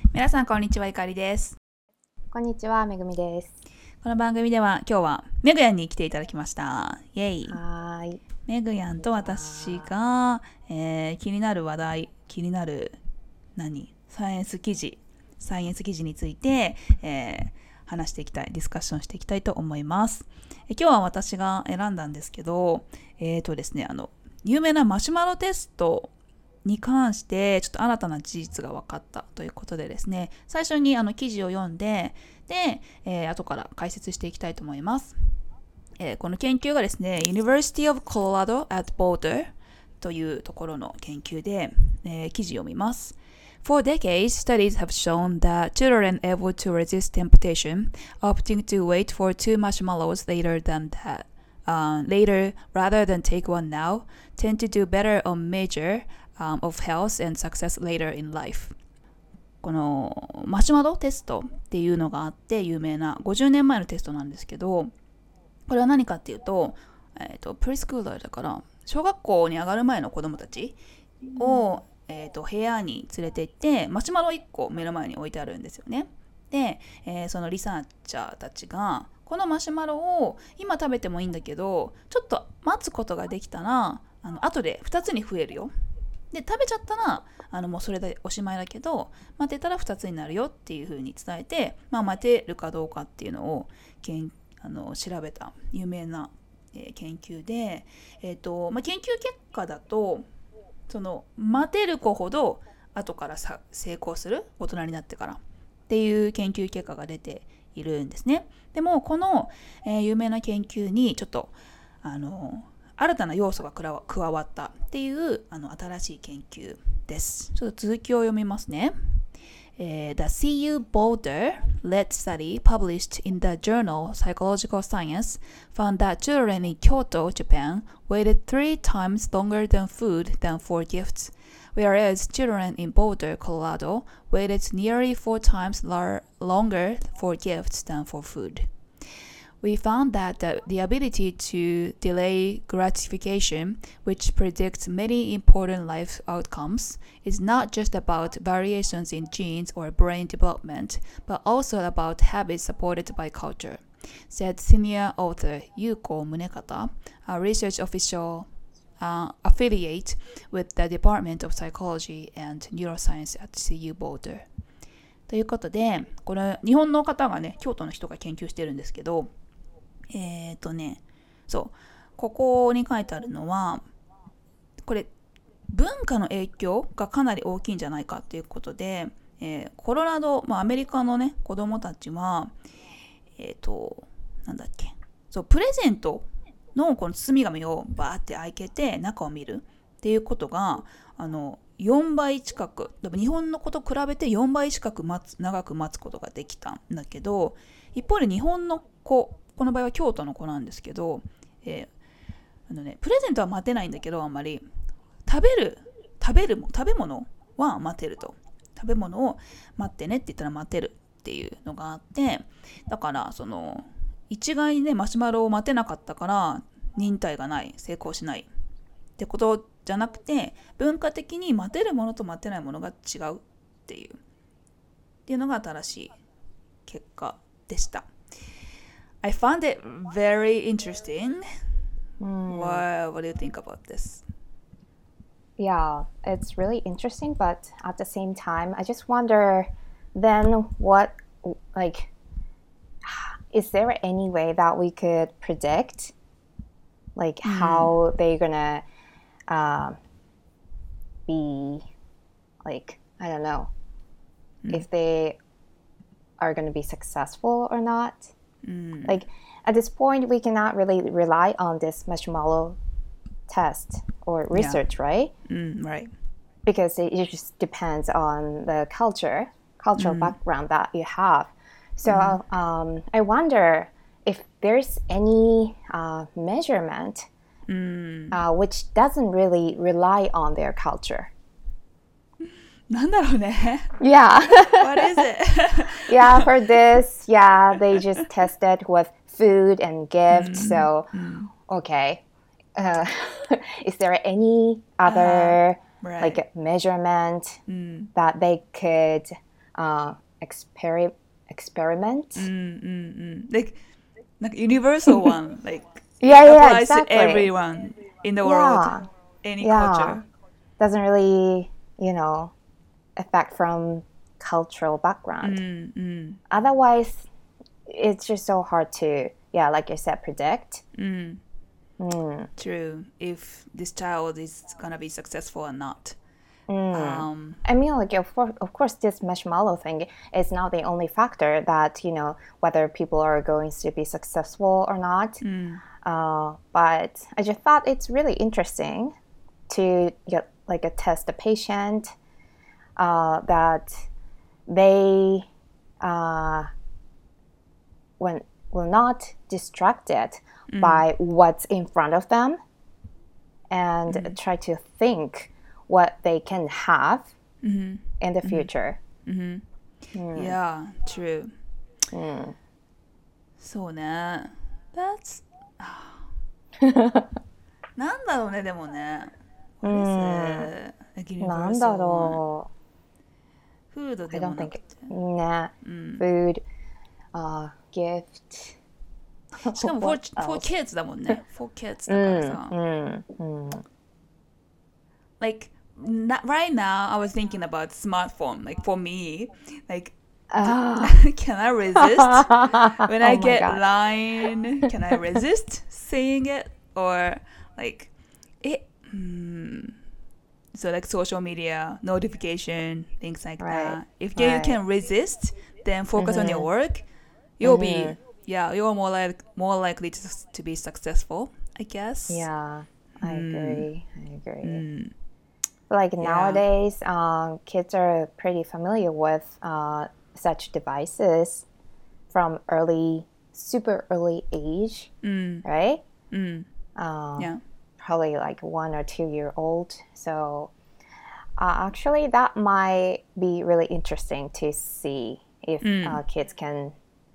皆さんこんにちは、ゆかりです。 こんにちは、めぐみです。 この番組では今日はメグヤンに来ていただきました。イエイ。 はーい。 メグヤンと私が、気になる話題、気になるサイエンス記事について、話していきたい、ディスカッションしていきたいと思います。今日は私が選んだんですけど、ですね、有名なマシュマロテストに関してちょっと新たな事実が分かったということでですね、最初に記事を読んで、後から解説していきたいと思います。この研究がですね、University of Colorado at Boulder というところの研究で、記事を見ます。For decades, studies have shown that children able to resist temptation, opting to wait for two marshmallows later rather than take one now, tend to do better on measure of health and success later in life. このマシュマロテストっていうのがあって有名な50年前のテストなんですけど、これは何かっていうと、プリスクーラーだから小学校に上がる前の子供たちを、部屋に連れて行ってマシュマロ1個目の前に置いてあるんですよね。で、そのリサーチャーたちがこのマシュマロを今食べてもいいんだけどちょっと待つことができたら後で2つに増えるよ。で食べちゃったらもうそれでおしまいだけど待てたら2つになるよっていう風に伝えて、待てるかどうかっていうのを調べた有名な、研究で、研究結果だとその待てる子ほど後から成功する大人になってからっていう研究結果が出ているんですね。でもこの、有名な研究にちょっと新たな要素が加わったっていう新しい研究です。ちょっと続きを読みますね。The CU Boulder-led study published in the journal Psychological Science found that children in Kyoto, Japan waited 3 times longer than food than for gifts, whereas children in Boulder, Colorado waited nearly 4 times longer for gifts than for food. We found that the ability to delay gratification, which predicts many important life outcomes, is not just about variations in genes or brain development, but also about habits supported by culture, said senior author Yuko Munekata, a research official affiliate with the Department of Psychology and Neuroscience at CU Boulder. ということで、これ日本の方がね、京都の人が研究してるんですけど、そう、ここに書いてあるのは、これ、文化の影響がかなり大きいんじゃないかっていうことで、コロラド、アメリカのね、子供たちは、なんだっけ、そう、プレゼントのこの包み紙をバーって開けて中を見るっていうことが、4倍近く、日本の子と比べて4倍近く長く待つことができたんだけど、一方で日本の子、この場合は京都の子なんですけど、プレゼントは待てないんだけどあんまり食べ物は待てると。食べ物を待ってねって言ったら待てるっていうのがあって、だからその一概にねマシュマロを待てなかったから忍耐がない、成功しないってことじゃなくて、文化的に待てるものと待てないものが違うっていうのが新しい結果でした。I found it very interesting. What do you think about this? Yeah, it's really interesting, but at the same time, I just wonder then what, like, is there any way that we could predict, like, how they're gonna be, like, I don't know, if they are gonna be successful or not? Like, at this point, we cannot really rely on this marshmallow test or research, right? Right. Because it just depends on the cultural background that you have. So I wonder if there's any measurement which doesn't really rely on their culture. なんだろうね Yeah. What is it? Yeah, for this, yeah, they just tested with food and gifts. So, okay. Is there any other Right. like measurement that they could experiment. Like universal one, like Yeah, yeah, applies exactly. to everyone in the world, any culture. Doesn't really, affect from cultural background. Otherwise, it's just so hard to, like you said, predict. True. If this child is gonna be successful or not. I mean, like, of course, this marshmallow thing is not the only factor that, whether people are going to be successful or not. But I just thought it's really interesting to get, like, test the patient that they will not distracted by what's in front of them and try to think what they can have in the future. Yeah, true. そうね。That's なんだろうね、でもね。What is it? Like なんだ universal one. ろフードうで I も don't な think くて。 ね、food, gift. しかも for kids だもんね。for kids だからさ。Like, right now, I was thinking about smartphone. Like, for me, like, can I resist when I get God. line? Can I resist saying it or like it? So like social media notification, things like that. If you can resist, then focus on your work. You'll be you're more likely to be successful, I guess. Yeah, I agree. Like nowadays, kids are pretty familiar with such devices from super early age, right? Probably like 1 or 2 year old. So actually, that might be really interesting to see if kids can,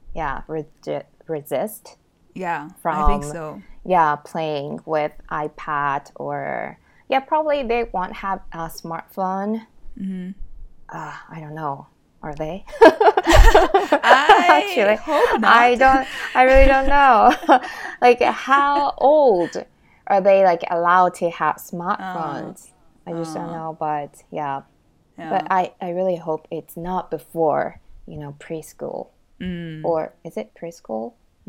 resist. Yeah, from, I think so. Playing with iPad or probably they won't have a smartphone. I don't know. Are they? Actually, hope not. I really don't know. Like, how old are they, like, allowed to have smartphones? I just don't know, but But I really hope it's not before, preschool. Or is it preschool?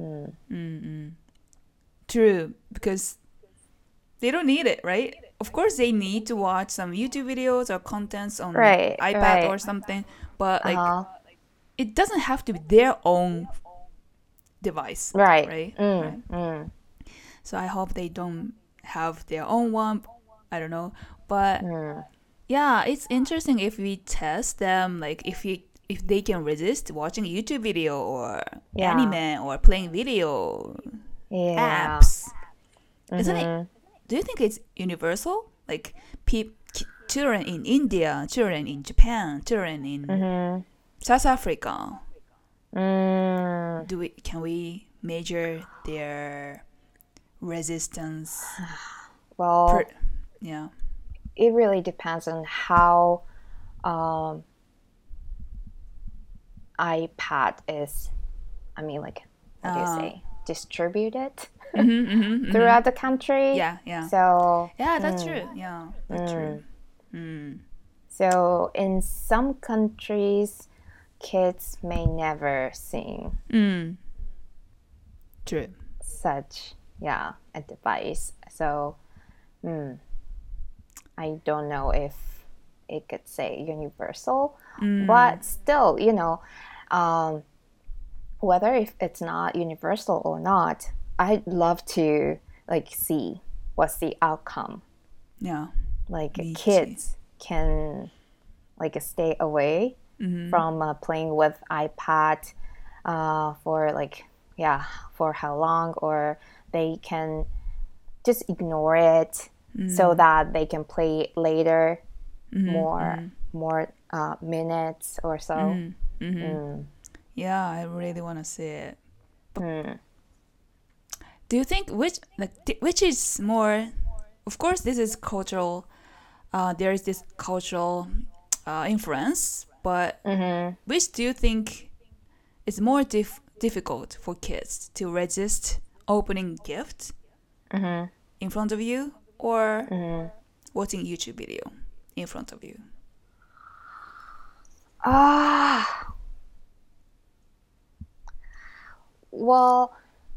True, because they don't need it, right? Of course, they need to watch some YouTube videos or contents on iPad or something, but like it doesn't have to be their own device, right? So I hope they don't have their own one. I don't know, but yeah, it's interesting if we test them, like if they can resist watching a YouTube video or anime or playing video apps. Isn't it? Do you think it's universal? Like children in India, children in Japan, children in South Africa. Can we measure their resistance? Well, yeah. It really depends on how iPad is. I mean, like, what do you say? Distributed throughout the country. Yeah. So that's true. Yeah, that's true. So in some countries, kids may never sing true such a device. So I don't know if it could say universal, but still, whether if it's not universal or not, I'd love to like see what's the outcome. Yeah. Like kids can like stay away from playing with iPad for for how long, or they can just ignore it so that they can play later more minutes or so. Yeah, I really want to see it. But do you think which is more? Of course, this is cultural. There is this cultural influence, but which do you think is more difficult for kids to resist opening gifts in front of you or watching YouTube video in front of you? Well,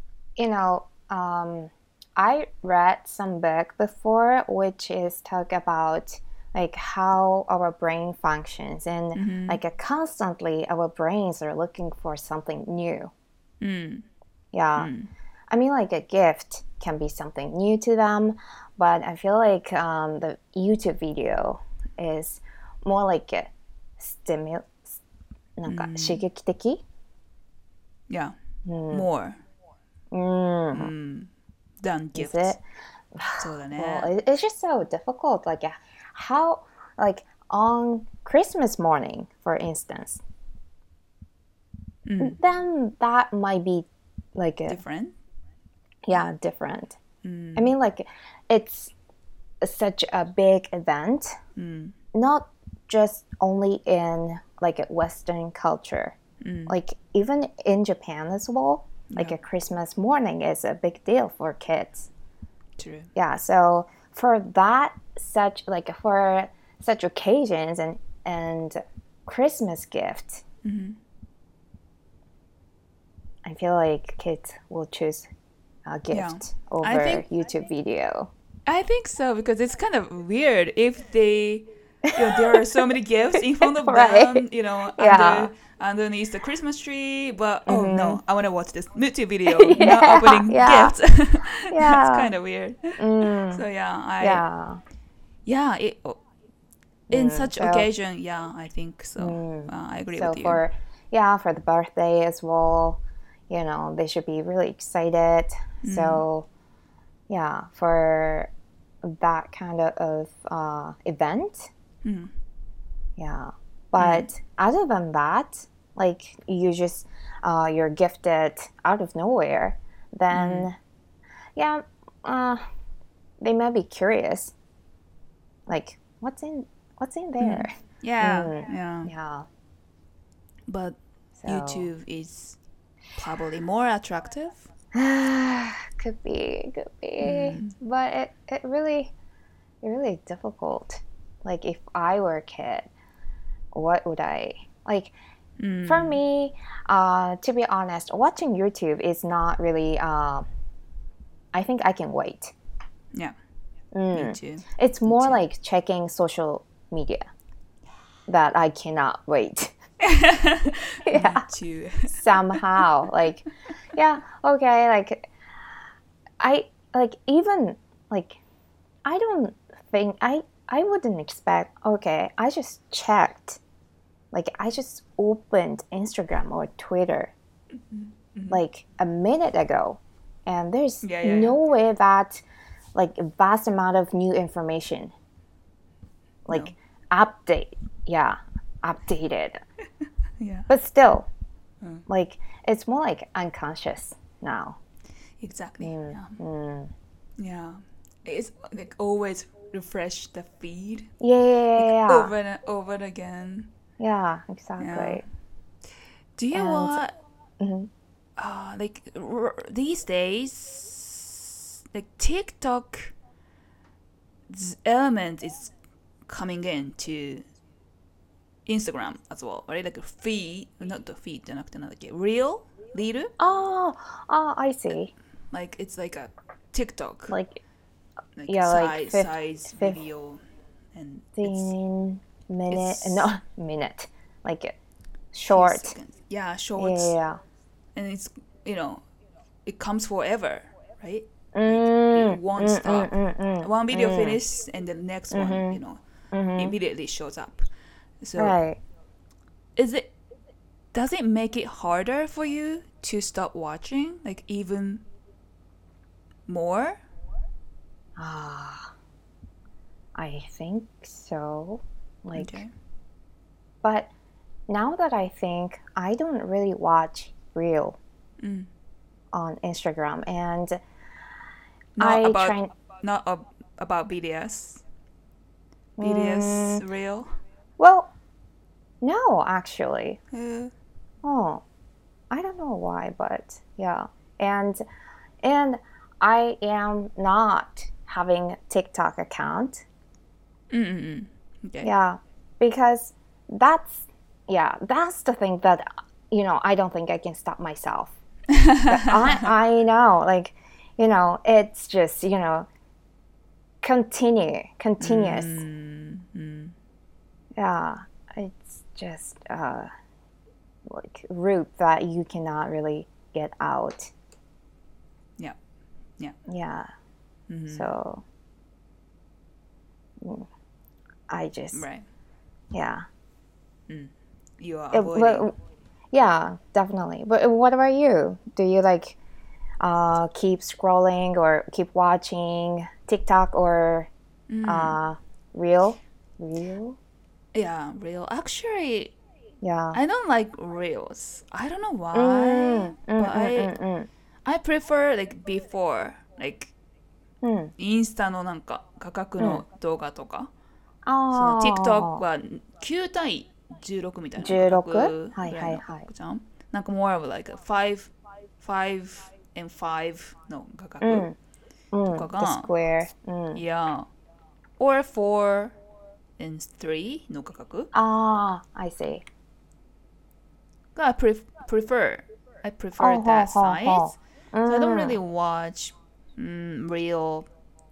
I read some book before which is talk about like how our brain functions and like constantly our brains are looking for something new. Yeah. I mean, like a gift can be something new to them, but I feel like the YouTube video is more like aなんか刺激的? Yeah. More than gifts. Is it? そうだね。 Well, it's just so difficult. Like how, like on Christmas morning, for instance, then that might be like a different? Yeah, different. I mean, like it's such a big event, not just only in like a Western culture, like even in Japan as well. Like a Christmas morning is a big deal for kids. True. Yeah, so for that for such occasions and Christmas gift, I feel like kids will choose a gift over YouTube video. I think so, because it's kind of weird if they, there are so many gifts in front of them, underneath the Christmas tree, but no, I want to watch this YouTube video, not opening gifts. That's kind of weird. So in such occasion, I think so. I agree with you. For the birthday as well, they should be really excited. So for that kind of event, but other than that, like you just you're gifted out of nowhere, then they might be curious, like what's in there. But YouTube is probably more attractive. Could be, but it really difficult. Like if I were a kid, what would I like? For me, to be honest, watching YouTube is not really. I think I can wait. Yeah, me too. It's more like checking social media that I cannot wait. Me too. Somehow, like, okay, like, I like even like, I don't think I wouldn't expect. Okay, I just checked. Like I just opened Instagram or Twitter like a minute ago, and there's no way that like a vast amount of new information like updated. But still, like it's more like unconscious now. Exactly. Yeah. It's like always refresh the feed. Over and over again. Yeah, exactly. Yeah. Do you want like these days, like TikTok element is coming into Instagram as well, right? Like a feed, not the feed, じゃなくてなんだっけ? Reel? I see. Like it's like a TikTok. Like size video and 15 minute, like short. Yeah, shorts. Yeah. And it's, it comes forever, right? It won't stop. One video finishes and the next one, immediately shows up. So does it make it harder for you to stop watching, like even more? I think so. Like, but now that I think, I don't really watch Reel on Instagram, and not about BTS. BTS Reel. Well, No, actually. へー Oh, I don't know why, but yeah. And I am not having TikTok account. うんうんうん。Okay. Yeah, because that's that's the thing that I don't think I can stop myself. But I know, like, it's just, continuous. うん。 Yeah, it's just like route that you cannot really get out. Yeah. Yeah. Yeah. So I just Right. yeah. You are It- avoiding. but- yeah, definitely. But what about you? Do you like keep scrolling or keep watching TikTok or Reel? Reel? Yeah, real. Actually, Yeah. I don't like reels. I don't know why, Mm, but mm, mm, mm, mm. I prefer like before, like うん。 インスタのなんか価格うん。 の動画とか、その TikTok ああ、 は9対16みたいな価 16？ 格はいぐらいのはいはい。 じゃん。なんか more of like 5 and 5の価格うん。うん。 とか The が、 Square。うん。 yeah, or 4 and 3の価格ああ、I see. が prefer. I ほ prefer うほう that ほうほ size. う。 So I don't うん。 really watch real.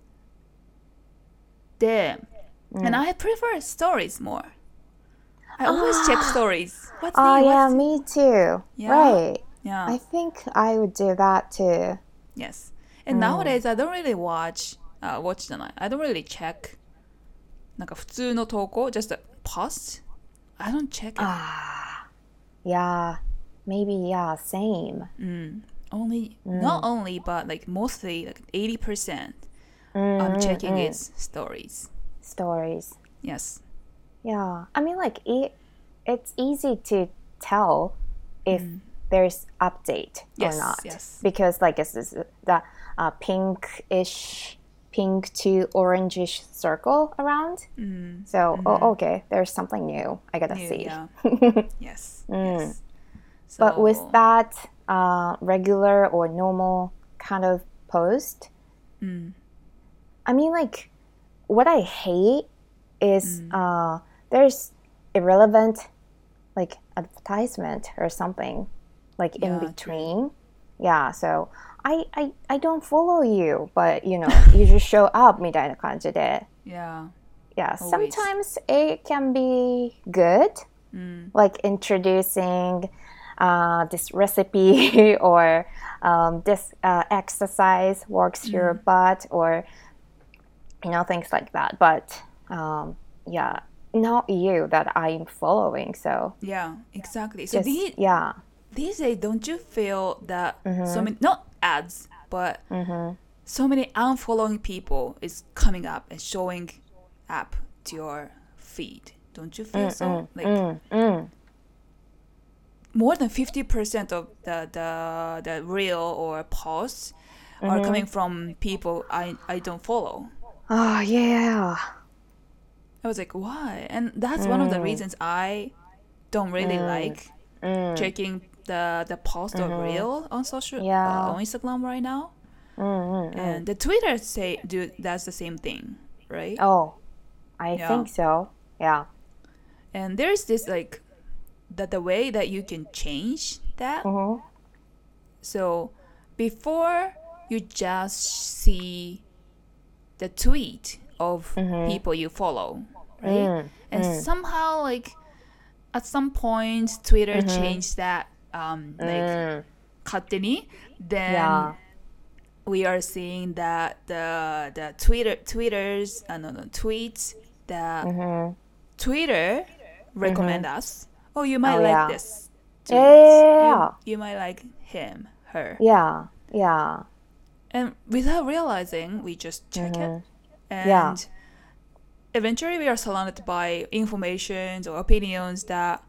で、and うん。 I prefer stories more. I always check あ stories. What's あ、 new? yeah, What's me too. yeah, Right. yeah, I think I would do that too. yes. う And ん。 nowadays I don't really watch じゃない。I don't really check なんか普通の投稿 just a post. I don't check it. ああ、yeah, maybe, yeah, same. Not only, but like mostly, like 80%, うん I'm うん checking うん。 its stories. Stories. Yes. Yeah, I mean, like it's easy to tell if there's update or Yes, not yes. because like it's the pinkish, pink to orangish circle around. So okay, there's something new. I gotta New, see. yeah. Yes, Mm. yes. But with So, that regular or normal kind of post, I mean, like what I hate is there's irrelevant like advertisement or something like in yeah, true. between. Yeah, so I don't follow you, but you just show up みたいな感じで. Yeah, Yeah, always. sometimes it can be good, like introducing this recipe or this exercise works your butt or things like that. But yeah, not you that I'm following. So Yeah, exactly. So just yeah, these days, don't you feel that so many, not ads, but so many unfollowing people is coming up and showing up to your feed? Don't you feel so? Like more than 50% of the reel or posts are coming from people I don't follow. oh yeah, I was like, why? And that's one of the reasons I don't really like checking the post of reel on yeah, on Instagram right now. And the Twitter that's the same thing, right? oh, I Yeah. think so. Yeah. And there's this like the way that you can change that. So before you just see the tweet of people you follow, right? And somehow like at some point Twitter changed that like 勝手に then Yeah. we are seeing that the tweeters no, tweets that Twitter recommend us. Oh, you might Oh, like yeah. this tweet. Yeah. You might like him, her. Yeah. Yeah. And without realizing, we just check it. And Yeah. eventually we are surrounded by informations or opinions that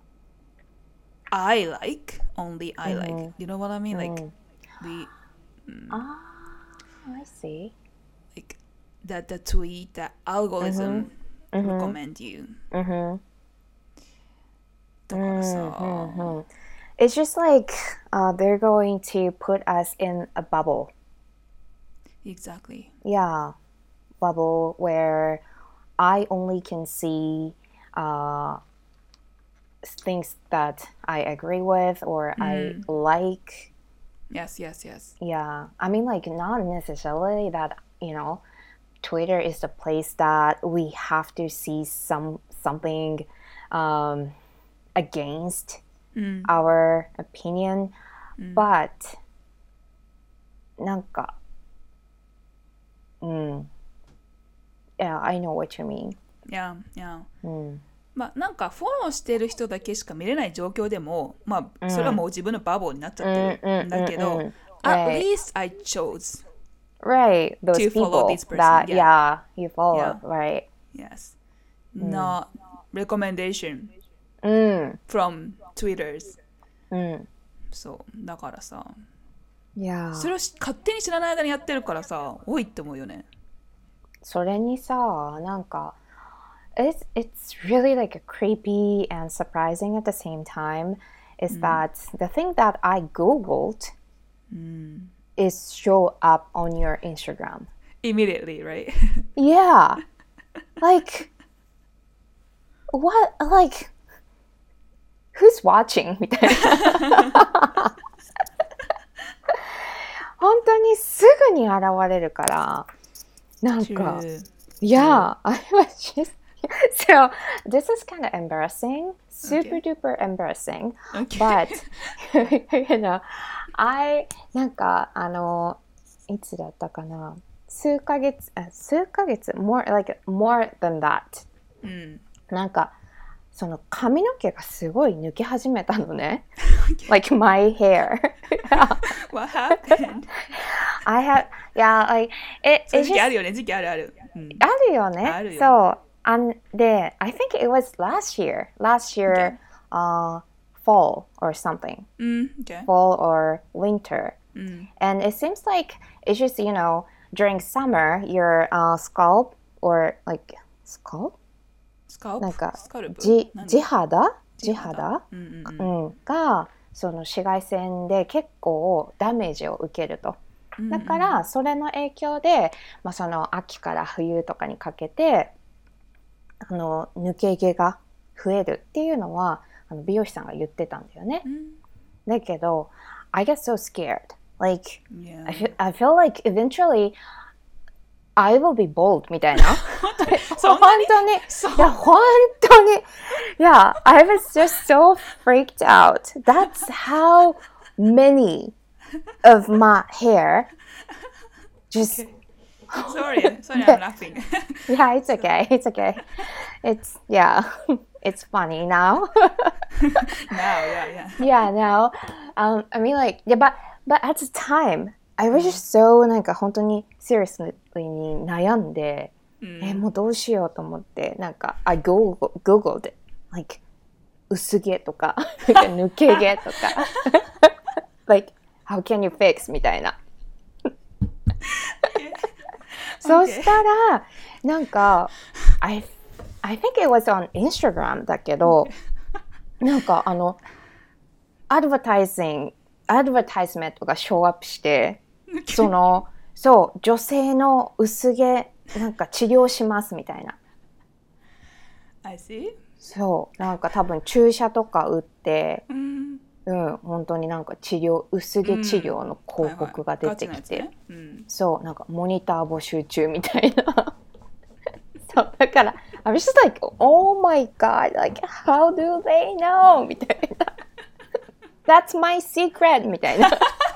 I like, only I like. You know what I mean? Like we Ah, I see. like that the tweet, that algorithm recommend you. だからさ、 It's just like they're going to put us in a bubble. Exactly. Yeah, bubble where I only can see things that I agree with or I like. Yes, yes, yes. Yeah, I mean, like, not necessarily that, Twitter is the place that we have to see something against our opinion, but なんか、Yeah, I know what you mean. Yeah, yeah. まあなんかフォローしてる人だけしか見れない状況でも、まあそれはもう自分のバボになっちゃってるんだけど、at least I chose Right, those to follow people this person. that, Yeah. you follow, Yeah. right? Yes. Not recommendation うん、 from Twitters. うん。 そうだからさ、 いやそれを勝手に知らない間にやってるからさ、多いって思うよね。 それにさ、なんか、it's really like a creepy and surprising at the same time is that the thing that I Googled is show up on your Instagram. Immediately, right? Yeah. Like, what, like, who's watching? みたいな。本当にすぐに現れるから、なんか、Yeah, I was just, so this is kind of embarrassing, super duper embarrassing, but,なんか、いつだったかな、数ヶ月、more than that. なんか、その髪の毛がすごい抜け始めたのね。Like my hair. What happened? Like, そういう時期あるよね、時期あるある。 あるよね。 あるよ。 そう。で、I think it was last year, fall or something. Okay. Fall or winter. And it seems like it's just, during summer, your scalp or like, scalp? なんか地肌がその紫外線で結構ダメージを受けると。だからそれの影響で、その秋から冬とかにかけて抜け毛が増えるっていうのは美容師さんが言ってたんだよね。だけど I get so scared. Like, I feel like eventually I will be bald みたいな。本当に。いや、本当に。Yeah, I was just so freaked out. That's how many of my hair just... Sorry, I'm laughing. Yeah, it's okay. It's funny now. Yeah. Now. I mean, like, yeah, but at the time, I was just so なんか本当に seriously に悩んで、もうどうしようと思って、なんか I googled it, like 薄毛とか抜け毛とかlike how can you fix みたいな。そしたらなんか I think it was on Instagram だけど、なんかアドバタイズメントがショーアップして、そう女性の薄毛なんか治療しますみたいな。 I see. そうなんか多分注射とか打って、本当になんか薄毛治療の広告が出てきて、そうなんかモニター募集中みたいな。そうだから I was just like, oh my god, like how do they know みたいな。That's my secret みたいな。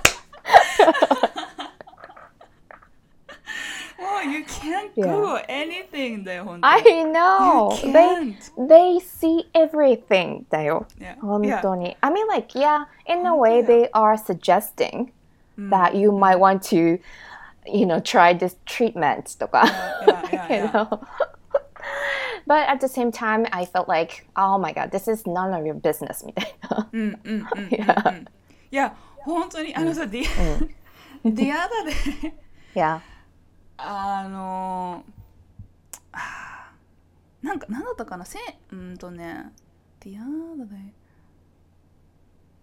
Oh, you can't Google anything だよ、本当に。 I know. They see everything だよ。本当に。I mean, like, yeah, in a way, they are suggesting that you might want to, try this treatment とか。But at the same time, I felt like, oh my god, this is none of your business みたいな。 いや、本当に、さ、The other day Yeah. なんだったかな、The other day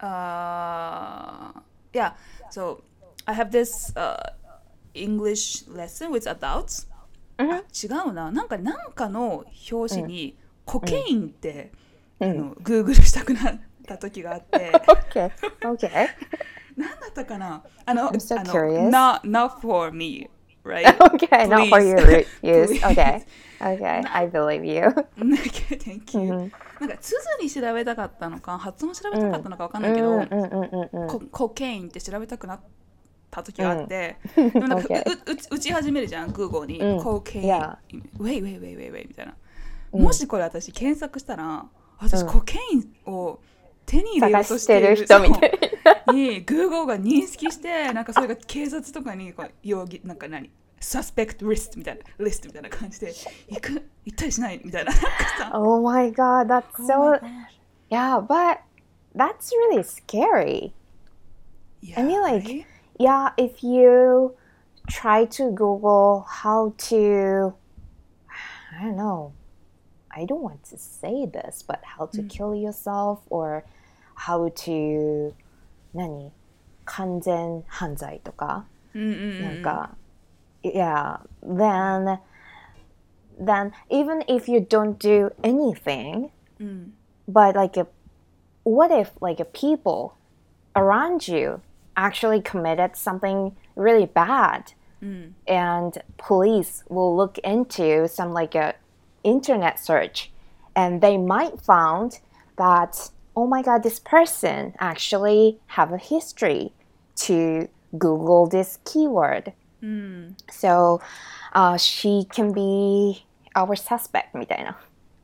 Yeah, so I have this English lesson with adults. あ、違うな。なんかの表紙にコケインって、Google したくなった時があって、 Okay. Okay. なんだったかな I'm so curious. not for me, right? Okay, not for Please. your use. Please. Okay. Okay, I believe you. Okay, thank you. なんか、鈴に調べたかったのか、発音調べたかったのかわかんないけど、コケインって調べたくなった時があって、でもなんか、打ち始めるじゃん、Google に。コケイン。wait みたいな。もしこれ私検索したら、私コケインを手に入れようとしている人みたいに Google が認識して、なんかそれが警察とかにこう容疑、なんかサスペクトリストみたいな感じで行ったりしないみたいな。 Oh my god, that's so... Yeah, but that's really scary. Yeah, I mean, like, right? yeah, if you try to Google how to, I don't know, I don't want to say this, but how to kill yourself or how to, 完全犯罪とか、なんか、yeah, then even if you don't do anything, but like what if like people around you actually committed something really bad, and police will look into some like a internet search, and they might found that, oh my god, this person actually have a history to Google this keyword. So she can be our suspect みたいな。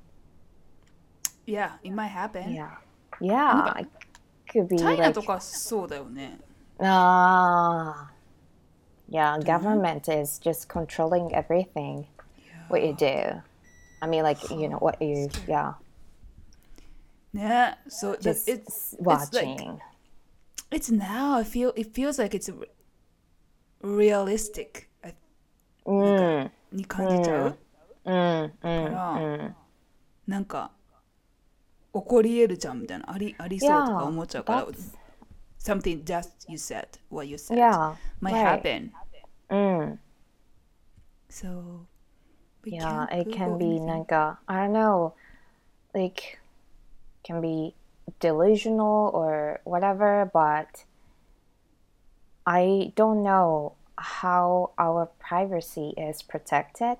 Yeah, it might happen. Yeah, it could be チャイナ like... とかそうだよね。 Yeah, government is just controlling everything, what you do. I mean, like, you know, what you, yeah. ね、so Just it's watching. It's now. It feels like it's realistic. に感じちゃう。からなんか起こり得るじゃんみたいなありそうとか思っちゃうから。Something just you said, what you said, might happen. So yeah, it can be なんか I don't know, like can be delusional or whatever, but I don't know how our privacy is protected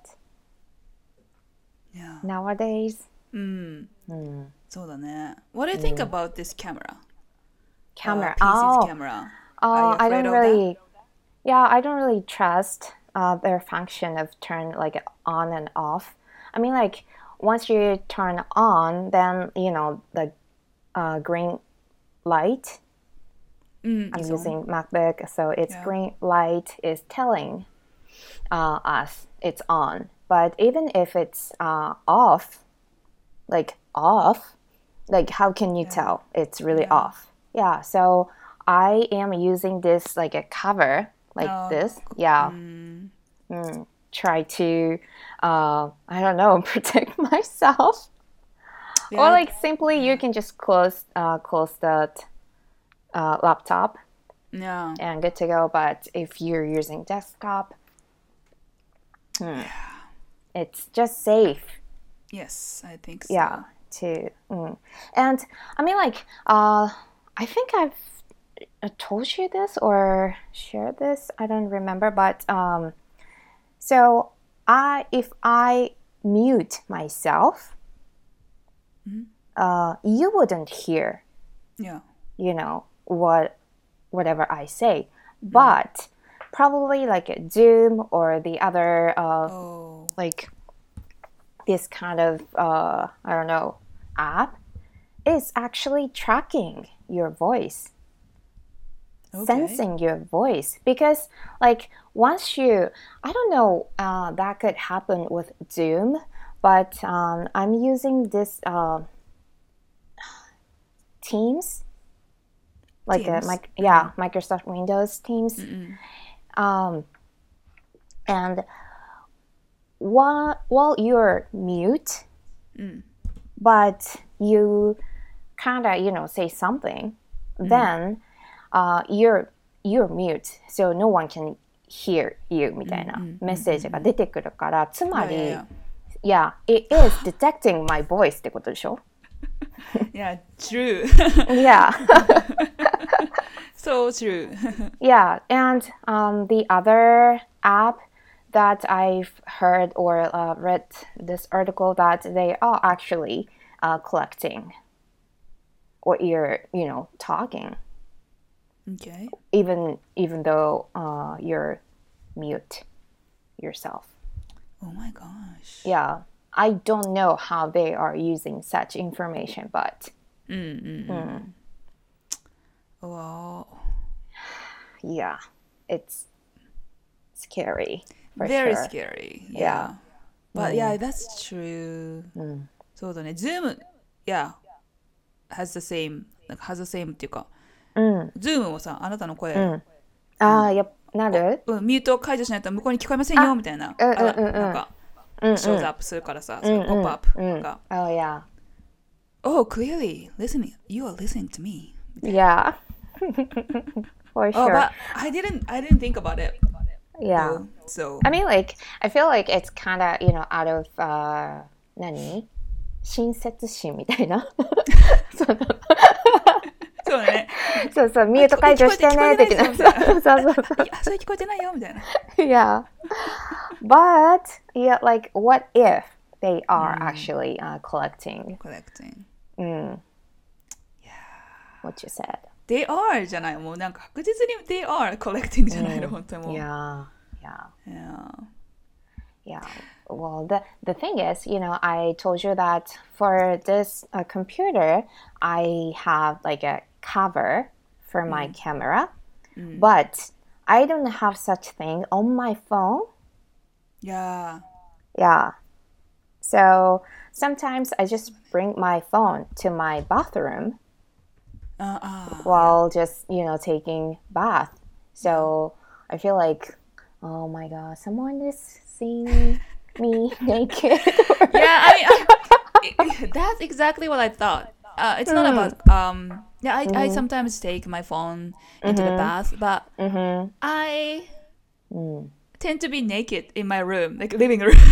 nowadays. そうだね。What do you think about this camera? Camera. PC's camera. I don't really... Yeah, I don't really trust their function of turn like on and off. I mean, like once you turn on, then you know the green light. I'm using MacBook, so its green light is telling us it's on. But even if it's off, like how can you tell it's really off? Yeah, so I am using this like a cover like this. Yeah. Try to I don't know, protect myself. Or like simply you can just close the laptop and good to go. But if you're using desktop, it's just safe. Yes, I think so. Yeah, and I mean, like, I think I've told you this or shared this. I don't remember, but so if I mute myself, you wouldn't hear. You know whatever I say, but probably like Zoom or the other like this kind of I don't know app is actually tracking your voice, sensing your voice, because like once you, I don't know, that could happen with Zoom, but I'm using this Teams, like Teams. Microsoft Windows Teams. And while you're mute, but you kind of, say something, then you're mute, so no one can hear you みたいなメッセージが出てくるから、つまり、yeah, it is detecting my voice ってことでしょ Yeah, true. Yeah. So true. Yeah, and the other app that I've heard or read this article that they are actually collecting what you're, talking, Okay. even though you're mute yourself. Oh my gosh. Yeah, I don't know how they are using such information, but Wow. yeah, it's scary for Very sure. scary. Yeah. But yeah, that's true. そうだね。Zoom, yeah, has the same, っていうか、Zoom もさ、あなたの声、 やっぱなるミュートを解除しないと向こうに聞こえませんよみたいな、なんか、shows up するからさ、そういうポップアップが。 Oh, yeah. Oh, clearly, listening. You are listening to me. Yeah. For Oh, sure. but I didn't think about it. Yeah. So, I mean, I feel like it's kind of, out of, 何親切心みたいな。 そうだね。 そうそう、ミュート解除してね、的な。そうそうそう。 いや、それ聞こえてないよみたいな。 Yeah. But, yeah, like, what if they are actually collecting Collecting. what you said? They are じゃない。もうなんか確実に they are collecting じゃないの、本当にもう。 Yeah. Yeah. Yeah. Well, the thing is, I told you that for this computer, I have like a cover for my camera, but I don't have such thing on my phone. Yeah. Yeah. So sometimes I just bring my phone to my bathroom while just, taking bath. So I feel like, oh my God, someone is seeing me naked. Yeah, I mean, that's exactly what I thought. It's not about yeah, I sometimes take my phone into the bath, but I tend to be naked in my room, like living room.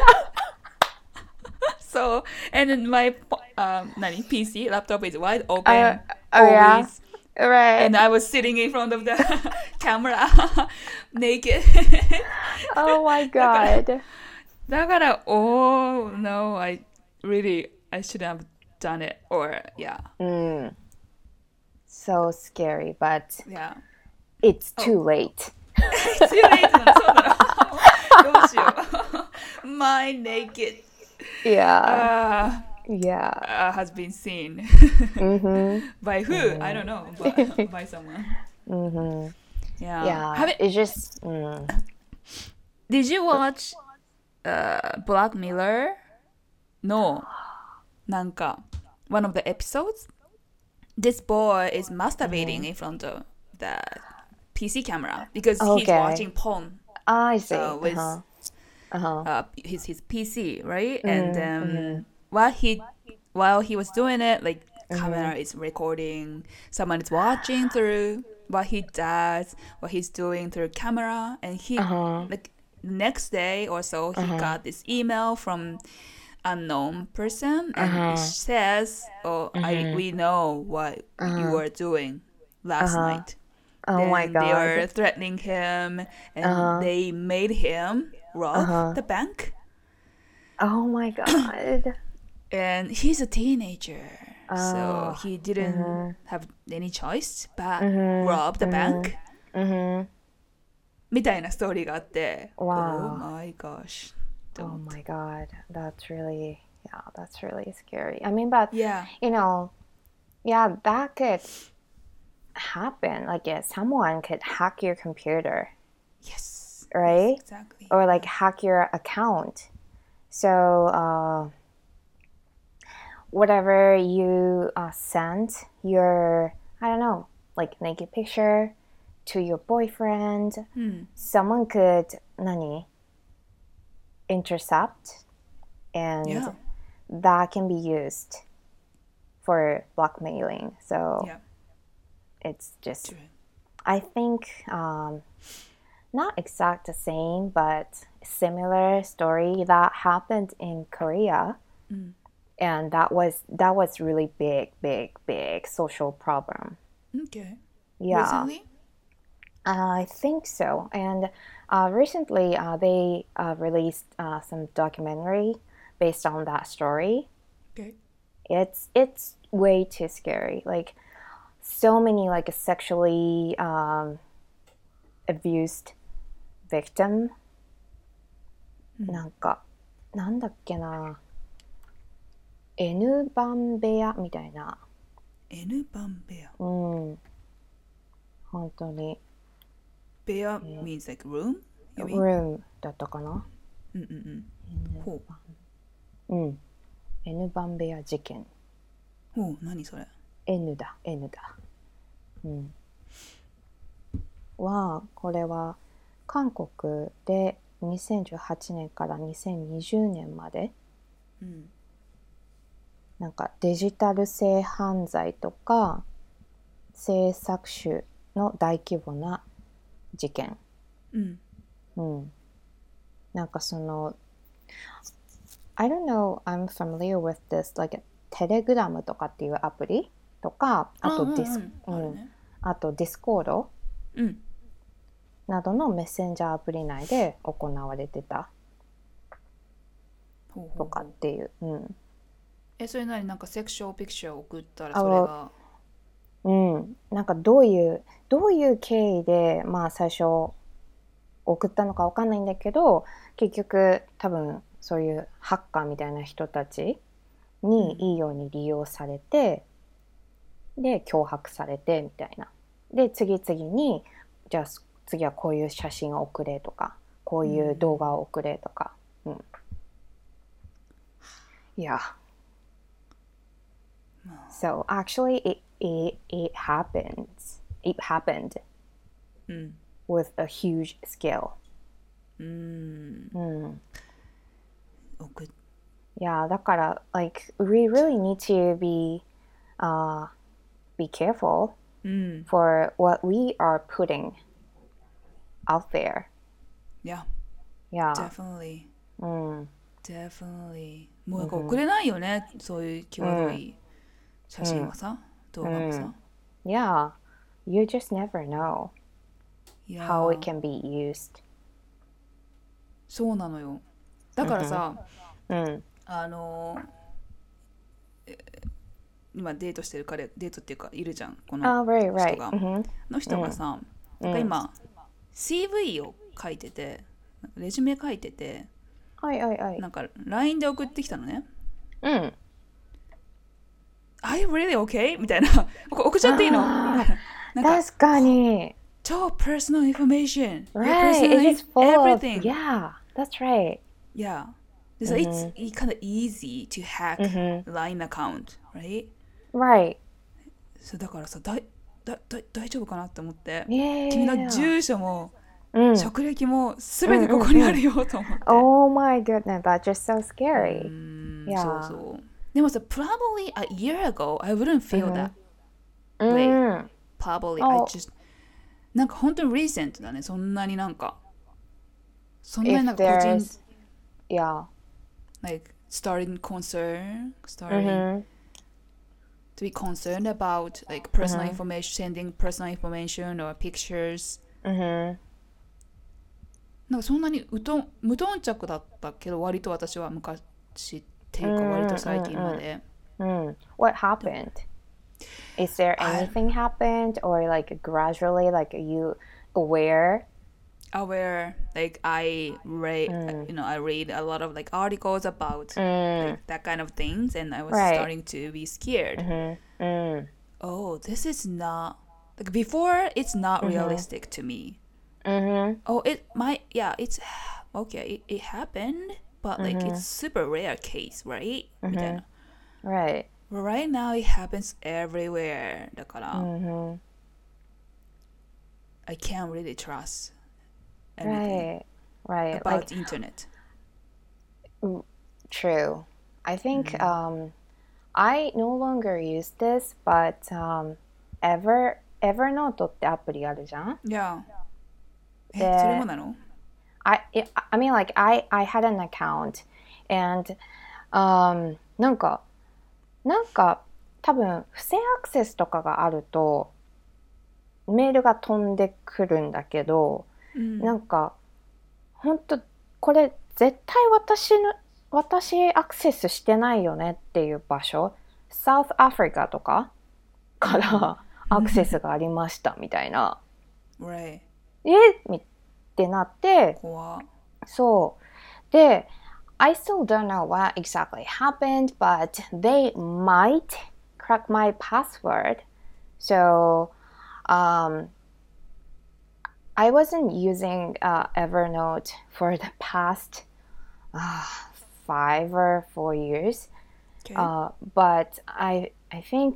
So, and then my PC laptop is wide open always. Yeah. Right. And I was sitting in front of the camera naked. Oh my God. だから、oh no, I shouldn't have done it. Or, yeah. So scary, but Yeah. it's too late. It's too late なの、そうなの。どうしよう。My naked Yeah. Yeah. has been seen. By who? I don't know. But by someone. Yeah. Yeah. It's just... Did you watch Black Mirror? No. なんか one of the episodes, this boy is masturbating in front of the PC camera because he's watching porn. I see. With his PC, right? And while he was doing it, like camera is recording, someone is watching through what he does, what he's doing through camera, and he like next day or so he got this email from unknown person and it says, we know what you were doing last night. Oh my God. They are threatening him and they made him rob the bank. Oh my God. And he's a teenager, so he didn't have any choice but rob the bank. みたいなストーリーがあって、 Wow. Oh my gosh. Oh my God. That's really scary. I mean, but, Yeah. Yeah, that could happen. Like, someone could hack your computer, Yes. right? Exactly. Or like hack your account. So, whatever you send your, I don't know, like naked picture to your boyfriend, someone could, intercept, and that can be used for blackmailing. So, it's just, True. I think, not exact the same, but similar story that happened in Korea. And that was really big social problem. Okay. Yeah. Recently? I think so. And recently, they released some documentary based on that story. Okay. It's way too scary. Like so many like sexually abused victim. なんかなんだっけな、N 番部屋みたいな。 N 番部屋。 うん。本当に。 部屋 means like room? You mean? room だったかな。 ほうん。N 番部屋事件。 う。ほう、何それ。 N だ。うん。これは韓国で2018年から2020年まで、なんかデジタル性犯罪とか性搾取の大規模な事件。なんかその I don't know, I'm familiar with this, like テレグラムとかっていうアプリとか、あとディスコードなどのメッセンジャーアプリ内で行われてたとかっていう。 それ何、なんかセクシュアルピクチャーを送ったらそれがなんかどういう経緯でまあ最初送ったのかわかんないんだけど、結局多分そういうハッカーみたいな人たちにいいように利用されて、で脅迫されてみたいな。で次々にじゃあ次はこういう写真を送れとか、こういう動画を送れとか。Yeah. So actually it happened with a huge scale. Yeah, だから like we really need to be careful for what we are putting out there. Yeah. Yeah. Definitely. Definitely. もうなんか送れないよね、そういう際どい写真はさ、動画もさ。 Yeah. You just never know how it can be used. そうなのよ。だからさ、今デートしてるデートっていうかいるじゃん、この人が。の人がさ、なんか今 CV を書いてて、レジュメ書いてて、なんか LINE で送ってきたのね。Are you really okay? みたいな。送っちゃっていいの？ 確かに。 超 personal information. Right. It's full everything. Yeah, that's right. Yeah. So it's kind of easy to hack LINE account, right? Right. そうだからさ、大丈夫かなって思って、 君の住所も職歴もすべてここにあるよと思って。 Oh my goodness, that's just so scary. Yeah. そう。でもさ、probably a year ago, I wouldn't feel that way. Probably, I just なんか本当に recent だね。そんなになんか個人 Yeah. Like starting to be concerned about like personal information, sending personal information or pictures. なんかそんなに無頓着だったけど、割と私は昔っていうか割と最近まで。 What happened? Is there anything happened or like gradually like you aware? Like I read I read a lot of like articles about like that kind of things, and I was starting to be scared. Oh, this is not like before, it's not realistic to me. Oh, it might, it's okay, it happened, but like it's super rare case, right? みたいな。 Right. But right now it happens everywhere. だから、I can't really trust anything right. about like, internet. True. I think I no longer use this, but Evernote ってアプリあるじゃん。 Yeah. それでもなの？ I mean, like, I had an account, and, なんか多分不正アクセスとかがあるとメールが飛んでくるんだけど、なんか本当これ絶対私アクセスしてないよねっていう場所、サウスアフリカとかからアクセスがありましたみたいな、 Right. ってなって、 怖っ。 そうで、I still don't know what exactly happened, but they might crack my password. So, I wasn't using Evernote for the past 5 or 4 years. Okay. But I think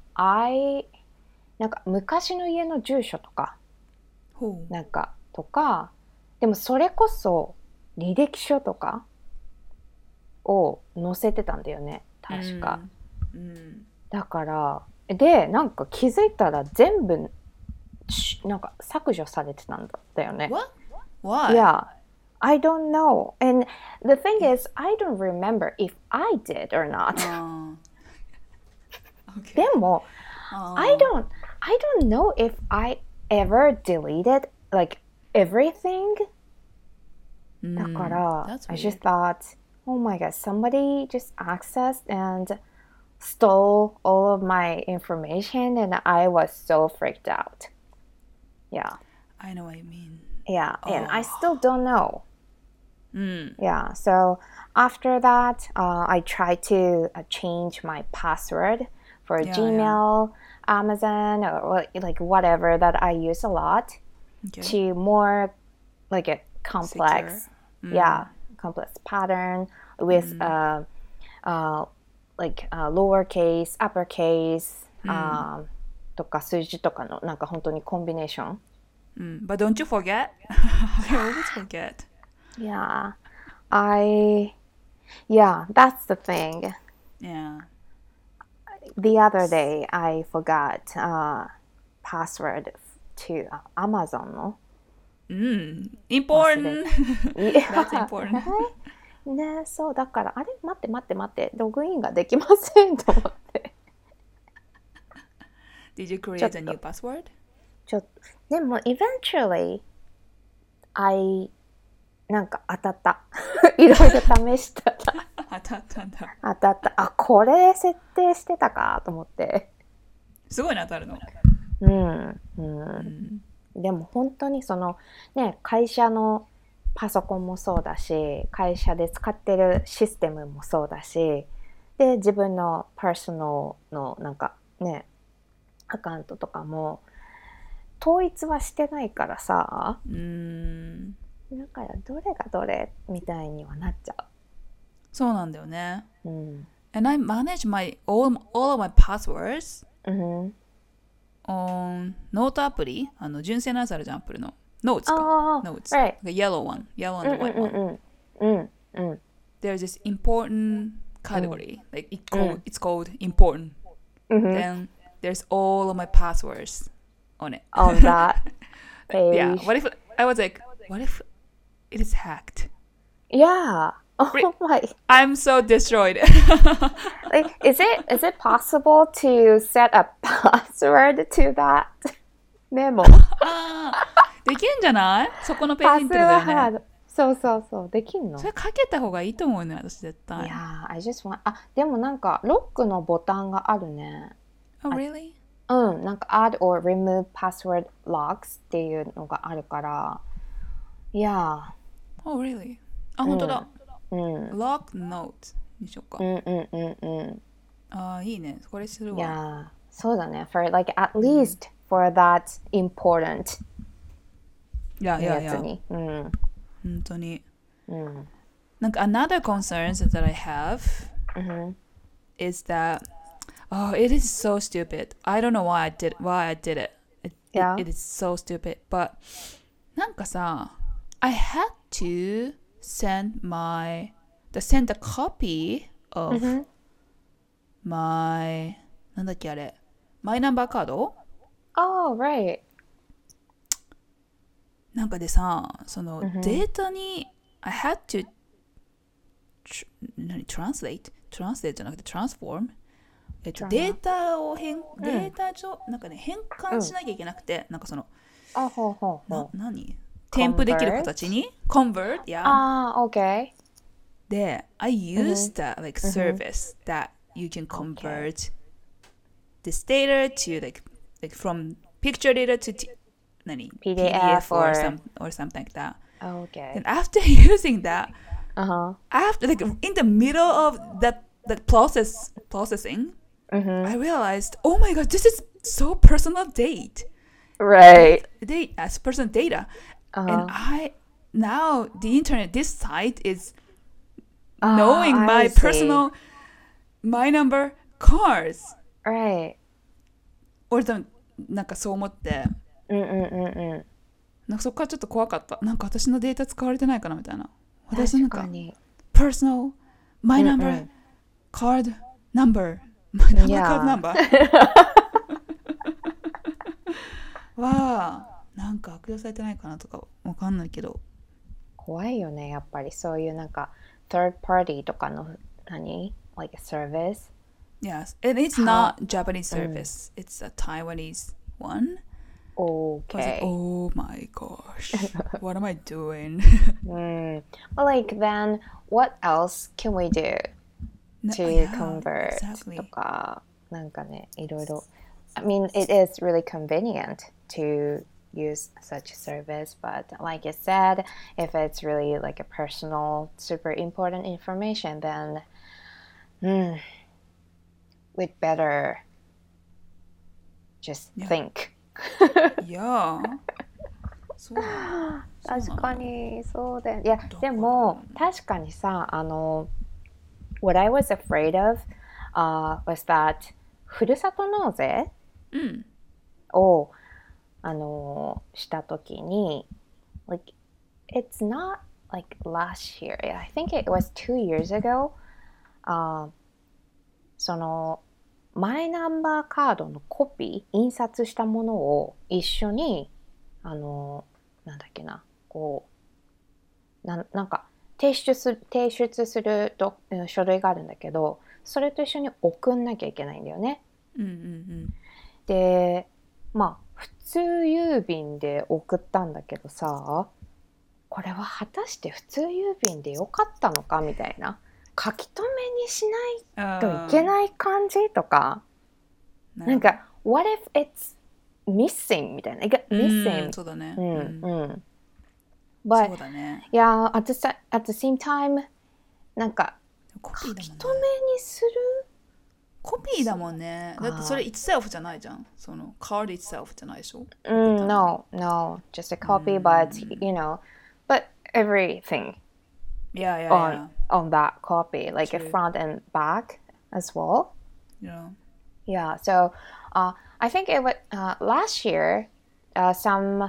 なんか昔の家の住所とか、 ほう。 なんかとか、でもそれこそ履歴書とかを載せてたんだよね、確か。だからで、なんか気づいたら全部なんか削除されてたんだよね。 What? Why? Yeah, I don't know. And the thing is, I don't remember if I did or not. Okay. でも、I don't know if I ever deleted like everything. だから、 That's I weird. just thought, oh my god, somebody just accessed and stole all of my information, and I was so freaked out. Yeah. I know what you mean. Yeah, and I still don't know. うん。 Yeah, so after that, I tried to change my password for Yeah, Gmail, Amazon, or like whatever that I use a lot Okay. to more like a complex, Secure. complex pattern with like lowercase, uppercase, とか数字とかのなんか本当にコンビネーション。 But don't you forget? I always forget. Yeah, that's the thing. Yeah. The other day, I forgot password to Amazon の。 Important. い That's important. ね、そうだから、あれ待ってログインができませんと思って。 Did you create a new password? でも eventually I なんか当たった。いろいろ試したら当たったんだ。 当たった。あ、これ設定してたかと思って。 すごいな、当たるの。 でも本当にそのね、会社のパソコンもそうだし、会社で使ってるシステムもそうだし、で自分のパーソナルのなんかね、アカウントとかも統一はしてないからさ、だからどれがどれみたいにはなっちゃう。 そうなんだよね。And I manage all of my passwords on ノートアプリ、純正のやつあるじゃん、アップルの。Notes か。Notes. Right. The yellow one. Yellow and the white one. There's this important category. Like it's called important. Then there's all of my passwords on it. On that page. Yeah. What if I was like, what if it is hacked? Yeah. Oh my. I'm so destroyed. Like, is it possible to set a password to that memo? できんじゃない？そこのページにってことだよね。 そうできんの？ それかけた方がいいと思うね、私絶対。 Yeah, I just want... でもなんかロックのボタンがあるね。 Oh, really? なんか add or remove password locks っていうのがあるから。Yeah. Oh, really? あ、本当だ。Lock note にしようか。あ、いいね。これするわ。 Yeah, そうだね。For like at least for that important やつに。 本当に。なんか another concerns that I have is that it is so stupid. I don't know why I did it. It is so stupid. But なんかさ、I had to send a copy of my なんだっけあれマイナンバーカード Oh, right. なんかでさ、そのデータに、I had to translate じゃなくて transform、データをデータ上、なんかね、変換しなきゃいけなくて、なんかその、 あ、ほうほうほう。 何添付できる形に convert, yeah. ああ、OK。 で、I used that like service that you can convert this data to like from picture data to何 PDF or or something like that. Okay. And after using that, Uh-huh. after like in the middle of that processing, I realized, oh my god, this is so personal Right. personal data, and now the internet, this site is knowing I my see. personal my number cars Right. or なんかそう思って、なんかそこからちょっと怖かった。なんか私のデータ使われてないかなみたいな。私なんか確かに。 personal my number card number my number card number はなんか悪用されてないかなとかわかんないけど。 怖いよね、やっぱりそういうなんか third party とかのlike a service. Yes, and it's not Japanese service. It's a Taiwanese one. I was like, Okay. oh my gosh, what am I doing? Well, like then what else can we do to Yeah, convert exactly. とかなんかね、いろいろ。I mean, it is really convenient to use such a service, but like you said, if it's really like a personal, super important information, then we'd better just think. Yeah. そう確かにそうだよ。いや、でも確かにさ、what I was afraid of was that ふるさと納税をしたときに like it's not like last year. I think it was 2 years ago. そのマイナンバーカードのコピー印刷したものを一緒になんだっけなこうなんか提出する書類があるんだけどそれと一緒に送んなきゃいけないんだよね。でまあ普通郵便で送ったんだけどさこれは果たして普通郵便でよかったのかみたいな書き留めにしないといけない感じとかなんか what if it's missing みたいな missing そうだね but そうだね yeah at the same time なんか書き留めにするコピーだもんね。だってそれ itself じゃないじゃん。その card itself じゃないでしょ。 No, just a copy, but you know, but everything on that copy, like a front and back as well. Yeah. So I think it was last year. Some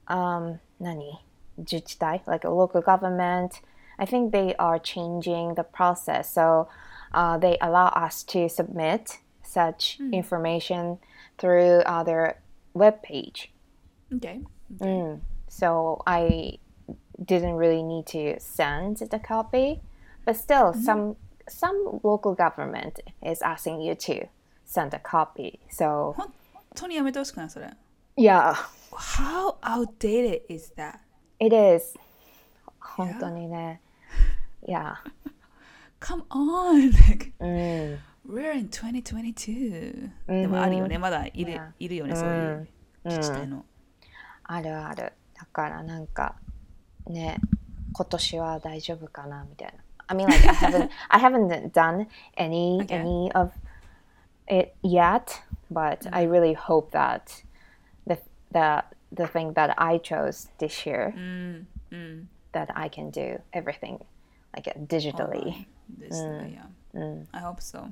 自治体 like a local government. I think they are changing the process. So they allow us to submit such information through their web page. Okay. So I didn't really need to send the copy, but still, some local government is asking you to send a copy. So 本当にやめてほしくないそれ。 Yeah. How outdated is that? It is. 本当にね。Yeah. Come on! We're in 2022. でもあるよね、まだいるよね、そういう自治体の。 あるある。だからなんかね、今年は大丈夫かなみたいな。I mean, like I haven't done any of it yet, but I really hope that the thing that I chose this year, that I can do everything like digitally. I hope so.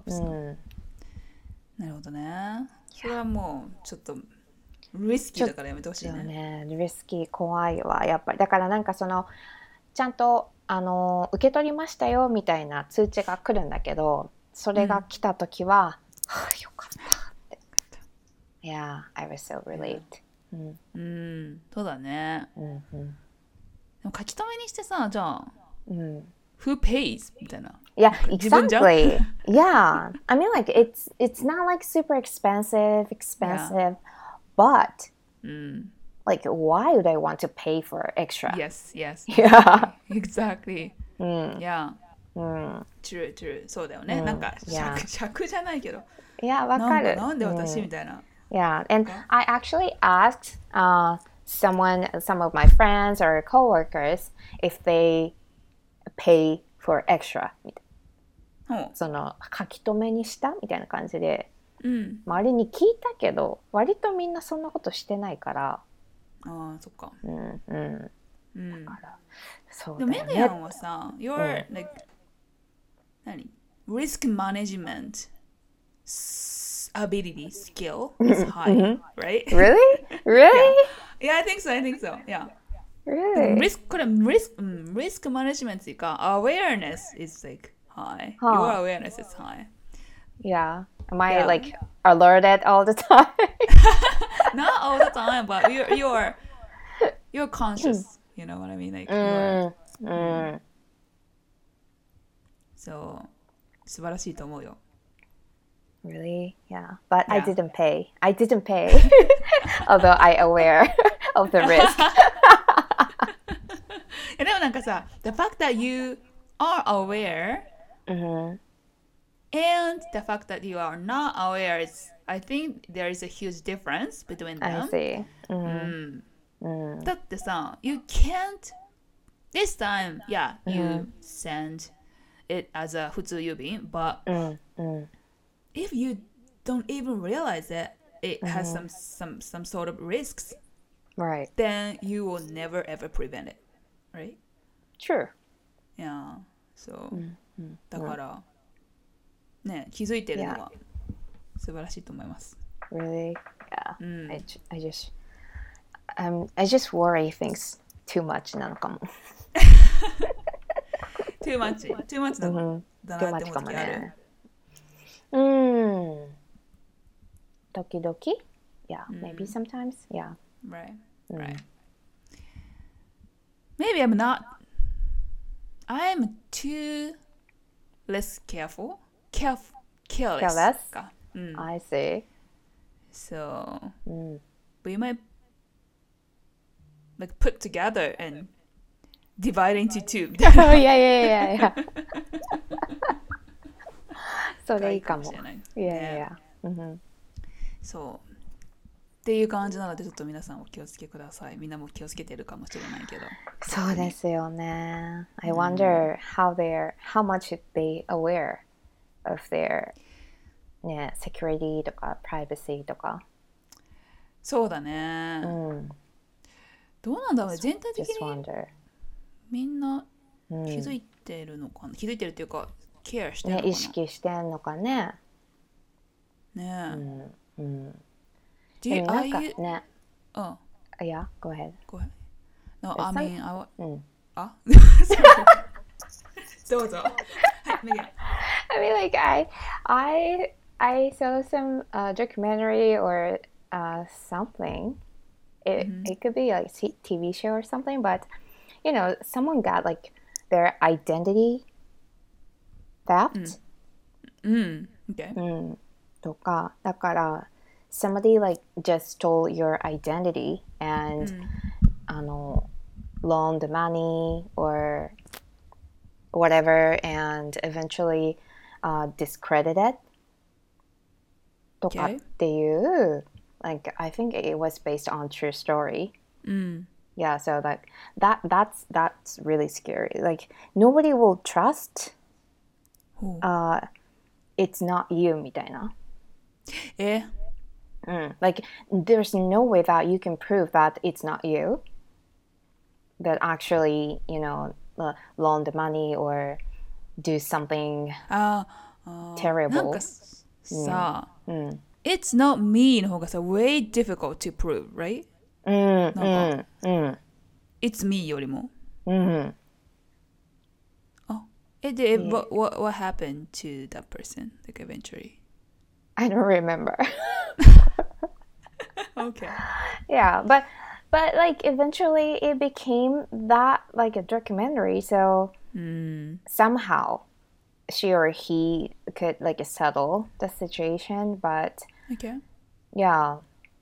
なるほどね。それはもうちょっとリスキーだからやめてほしいね。 リスキー怖いわやっぱりだからなんかそのちゃんと受け取りましたよみたいな通知が来るんだけどそれが来た時は、はあ、よかったって Yeah, I was so relieved. そうだね。 うんうん。 でも書き留めにしてさ、じゃあ、 うん。 Who pays? みたいな。 Yeah, 自分じゃん exactly. Yeah. I mean, like, it's not like super Yeah. expensive, but うん。 like, why would I want to pay for extra? Yes, yes, Yeah. exactly. うん。 Yeah, うん。 true, true. そうだよね。 うん。 なんか、 Yeah. 尺じゃないけど、 いや、わなんか、 かる。 なんで私うん。 みたいな。 Yeah, and Okay. I actually asked some of my friends or coworkers if they pay for extra みたいほな。その書き留めにしたみたいな感じでう。うん。 周りに聞いたけど、割とみんなそんなことしてないから。 ああ、そっか。 うんうんうん。 だからそうでだよね。 もメディアンはさ、your、like、何 risk management ability skill is high, right? Really? Really? Yeah, I think so, I think so. Yeah. でも Really? これリスクマネジメントっていうか、awareness is like high. Your はあ awareness is high. Yeah. Am I Yeah. like alerted all the time? Not all the time, but you're conscious. You know what I mean? Like you're うん。 そう素晴らしいと思うよ。 Really? Yeah. But I Yeah. didn't pay. I didn't pay. Although I aware of the risk. でもなんかさ、the fact that you are aware Mhm. and the fact that you are not aware is, I think there is a huge difference between I them. see. う Mhm. ん。だってさ、you can't this time, yeah, you send it as a 普通郵便, but うんうん if you don't even realize it, it has some sort of risks, Right. then you will never ever prevent it, right? True. Yeah. So, だからね、気づいてるのは素晴らしいと思います。 Really? Yeah. I just worry things too much なのかも。 too much だなだなって思う時ある。 時々 Yeah, maybe sometimes. Yeah. Right. Maybe I'm too less careful. Careless. Careless? I see. So, we might like put together and divide into two. Oh, yeah. それいいかも。 いいかもしれない。 Yeah. そうっていう感じなのでちょっと皆さんお気をつけください。みんなも気をつけてるかもしれないけど。 そうですよね。I wonder how much they aware of their ね、security とか privacy とか。 そうだね。どうなんだろうね。全体的 Just に wonder. みんな気づいてるのかな。気づいてるっていうかケアしてるのかな。 ね、意識してんのかね。 ねえ。 でもなんかね。 Yeah, go ahead. Go ahead. No, I mean,あどうぞ。はい、メディア。 I mean, like I saw some documentary or something. It could be like a TV show or something, but you know, someone got like their identity theft. Okay. とか、だから somebody like just stole your identity and loaned money or whatever and eventually discredited とかっていう like I think it was based on true story. Yeah, so like that's really scary. Like nobody will trust it's not you みたいな。Like there's no way that you can prove that it's not you that actually, you know, loan the money or do something terrible. なんかさ、It's not me の方がさ、way difficult to prove, right? なんか、It's me よりも。で、what happened to that person, like eventually? I don't remember. Okay. Yeah, but like eventually it became that like a documentary, so somehow she or he could like settle the situation, but Okay. yeah,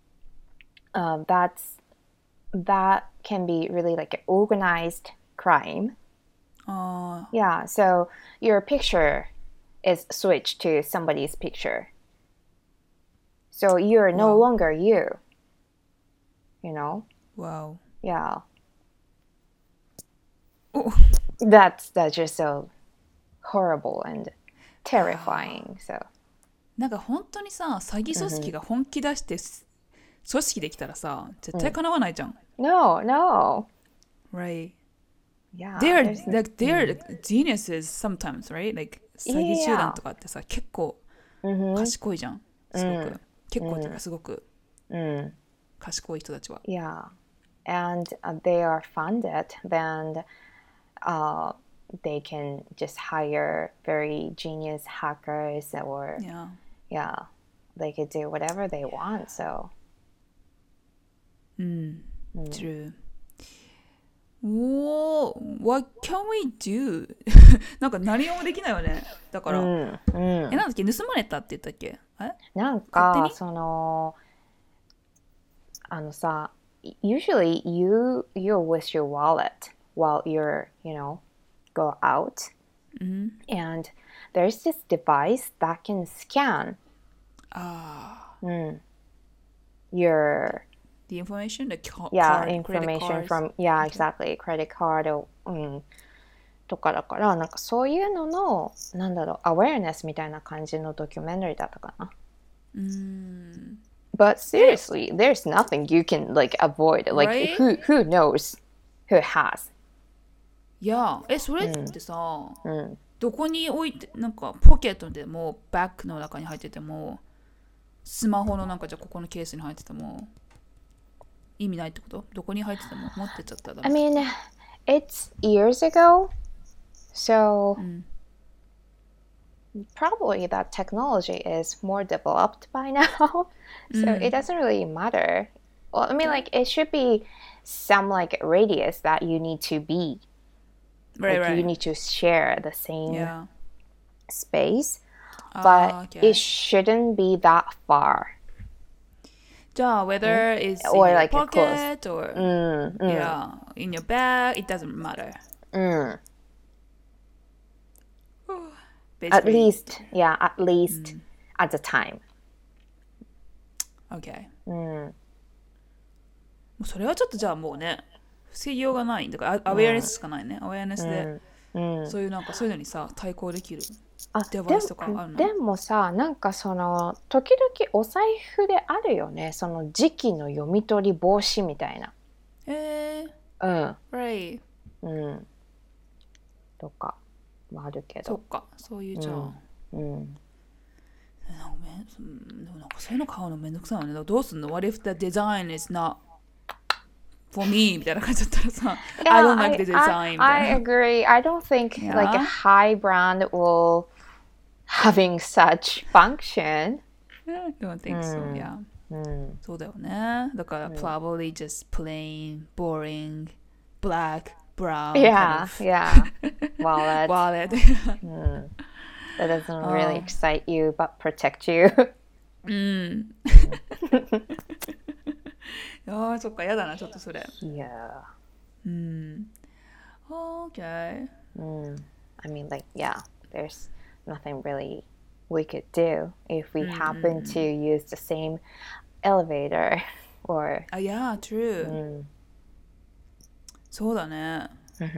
that can be really like an organized crime. Yeah, so your picture is switched to somebody's picture. So you're no Wow. longer you, you know? Wow. Yeah. Oh. That's just so horrible and terrifying. So なんか本当にさ、詐欺組織が本気出して組織できたらさ、絶対叶わないじゃん。 no, no. Right. Yeah, They're there's like they're geniuses sometimes, right? Like 詐欺集団 yeah. とかってさ、結構賢いじゃん。すごく。結構っていうかすごく賢い人たちは。 Yeah. And they are funded, then they can just hire very genius hackers or Yeah. yeah, they could do whatever they want. So True. Whoa, what can we do? なんか何もできないよね。だから、なんだっけ、盗まれたって言ったっけ？ なん勝手に？ かそのあのさ usually you're with your wallet while you're go out and there's this device that can scan your The information, the yeah card, credit information cards. from yeah exactly credit card をとかだからなんかそういうののなんだろうアウェアネスみたいな感じのドキュメンタリーだったかな。But seriously, there's nothing you can like avoid. Like Right? who knows who has? いや、それってさ、どこに置いて、なんかポケットでも、バッグの中に入ってても、スマホのなんかじゃあここのケースに入ってても、意味ないってこと？どこに入ってても持ってっちゃったらダ I メ。 mean, it's years ago, so probably that technology is more developed by now. So it doesn't really matter. Well, I mean, like it should be some like radius that you need to be. Right, Like right. you need to share the same Yeah. space, but okay. it shouldn't be that far. じゃあ、whether it's in Or your like pocket or yeah, in your bag, it doesn't matter. At Basically, least, yeah, at least at the time. okay. もうそれはちょっとじゃあもうね、防ぎようがない。だからアウェアネスしかないね。アウェアネスで、そういうなんかそういうのにさ、対抗できるデバイスとかあるの？ でもさ、なんかその時々お財布であるよね。その時期の読み取り防止みたいな。 right. とかもあるけど。 そっか、そういうじゃあ。でもなんかそういうの買うのめんどくさいよね。だからどうすんの？ What if the design is not for me? みたいな感じだったらさ、I don't like the design みた I いな。 agree. I don't think Yeah. like a high brand will having such function. Don't think so, yeah. そうだよね。だから、probably just plain, boring, black, brown Yeah, kind of yeah. Wallet. wallet. That doesn't really excite you but protect you. ああ、そっか、やだな、ちょっとそれ。 Yeah. Okay. I mean, like, yeah, there's nothing really we could do if we happen to use the same elevator or. Yeah, true. そうだね。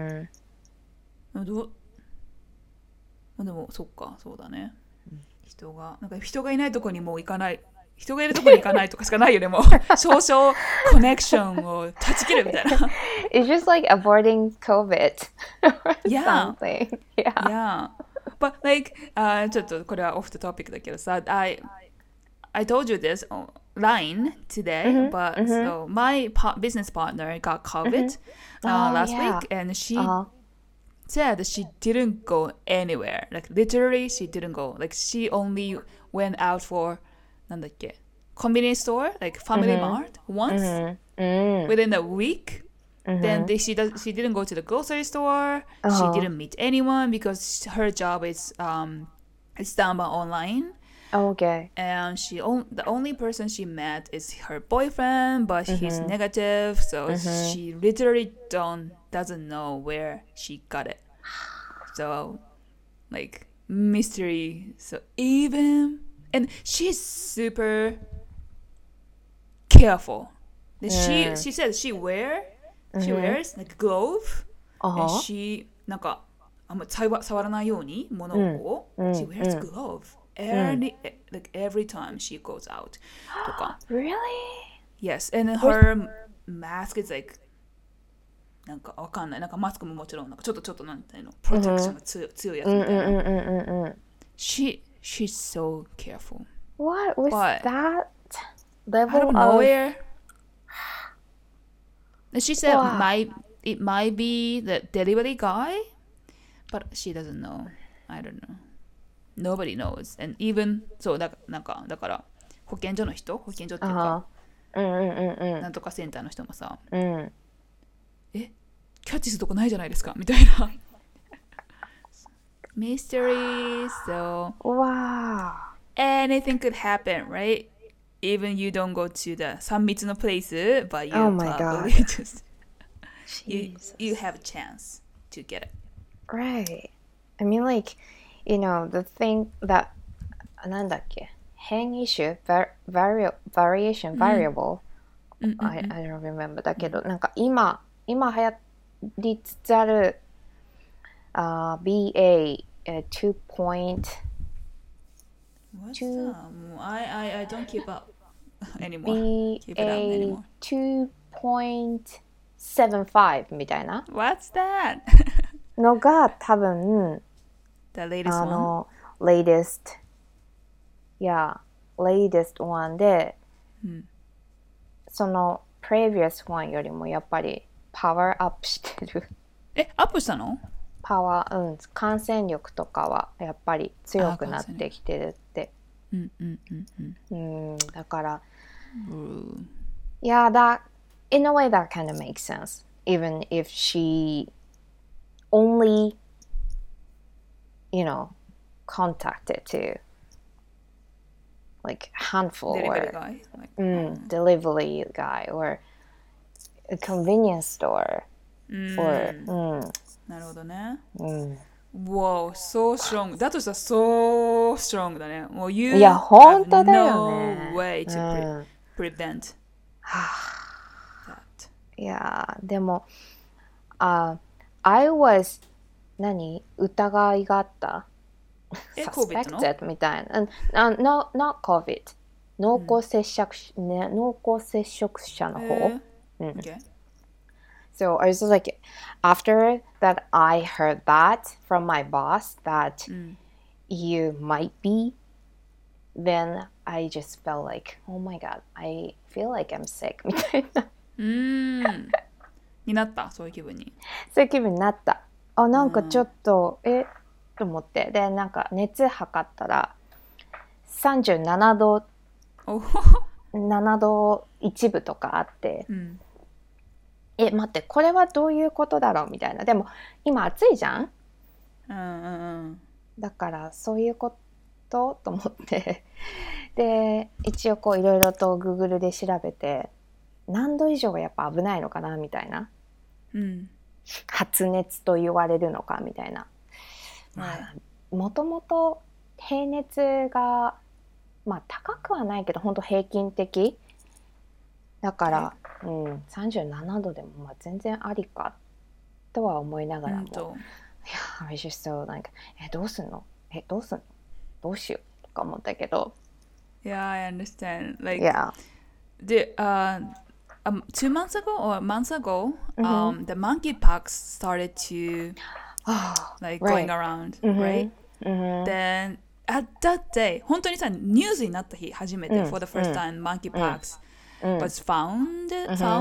でもそっか、そうだね。なんか人がいないとこにもう行かない。人がいるとこに行かないとかしかないよね、もう。少々コネクションを断ち切るみたいな。 It's just like avoiding COVID or Yeah. something. Yeah. Yeah. But like, ちょっとこれはオフthe topic だけどさ、I told you this on line today, but so my business partner got COVID last yeah. week, and she said she didn't go anywhere. Like literally, she didn't go. Like she only went out for なんだっけ、 convenience store, like Family Mart, once within a week. Then she didn't go to the grocery store. She didn't meet anyone because her job is done by online. Okay. And the only person she met is her boyfriend, but he's negative, so she literally doesn't know where she got it. So like mystery. So and she's super careful. She says she wears like glove, and she なんかあんま触らないように物を、she wears glove like every time she goes out とか。 Really? Yes, and her mask is like なんかわかんない。なんかマスクももちろんなんかちょっとなんていうの、プロテクションが強いやつみたいな。She's so careful. What was But that out level of of nowhere? She said Wow. it might be the delivery guy, but she doesn't know. I don't know. Nobody knows. And even そうだから保健所っていうか、なんとかセンターの人もさ、キャッチするとこないじゃないですかみたいな。Mystery, so Wow. anything could happen, right? Even you don't go to the 3密の place, but you Oh my probably God. just you have a chance to get it. Right. I mean, like, you know, the thing that なんだっけ変異種 variation variable I don't remember だけど、なんか今流行りつつあるBA2 point What's that? I don't keep up anymore. Keep it up anymore. BA2.75 みたいな What's that? のが多分 The latest one? latest one で、その previous one よりもやっぱりパワーアップしてるアップしたの？ 感染力とかはやっぱり強くなってきてるって。だから、Yeah, that in a way that kind of makes sense. Even if she only, you know, contacted to like handful Delivery or guy. delivery guy or a convenience store or なるほどね。Wow, so strong. だとしたら so strong だね。もう you いや、本当 have だよね。 no way to prevent that. いやでもI was 疑いがあった COVID の suspected みたいなnot COVID 濃厚接触者の方、 Okay. So I was like, after that I heard that from my boss that you might be, then I just felt like, oh my god, I feel like I'm sick みたいなになったそういう気分に。 そういう気分になった。なんかちょっと、と思って。で、なんか熱測ったら37度7度1分とかあって、待って、これはどういうことだろうみたいな。でも今暑いじゃん、だからそういうことと思ってで一応こういろいろと Google で調べて何度以上がやっぱ危ないのかなみたいな、発熱と言われるのかみたいな、もともと平熱がまあ高くはないけど本当平均的だから、37度でもまあ全然ありかとは思いながらも、いや、I just so like どうすんのどうしようとか思ったけど。 Yeah, I understand. Like, yeah. 2 months ago or months ago, the monkeypox started to like going around, right? Then at that day, 本当にさニュースになった日初めて、for the first time monkeypox was found.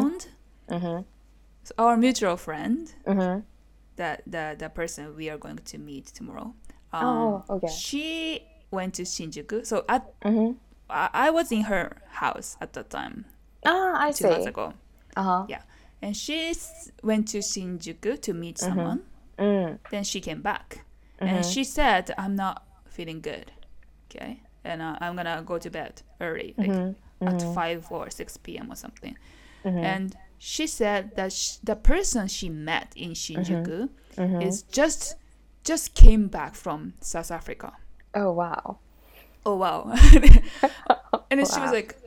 So our mutual friend, the person we are going to meet tomorrow, okay. she went to Shinjuku. So at I was in her house at that time, I 2 months see. ago. Uh-huh. Yeah. And she went to Shinjuku to meet someone. Then she came back. And she said, I'm not feeling good. Okay. And I'm going to go to bed early, like at 5 or 6 p.m. or something. And she said that the person she met in Shinjuku is just came back from South Africa. Oh, wow. Oh, wow. And then she was Wow. like,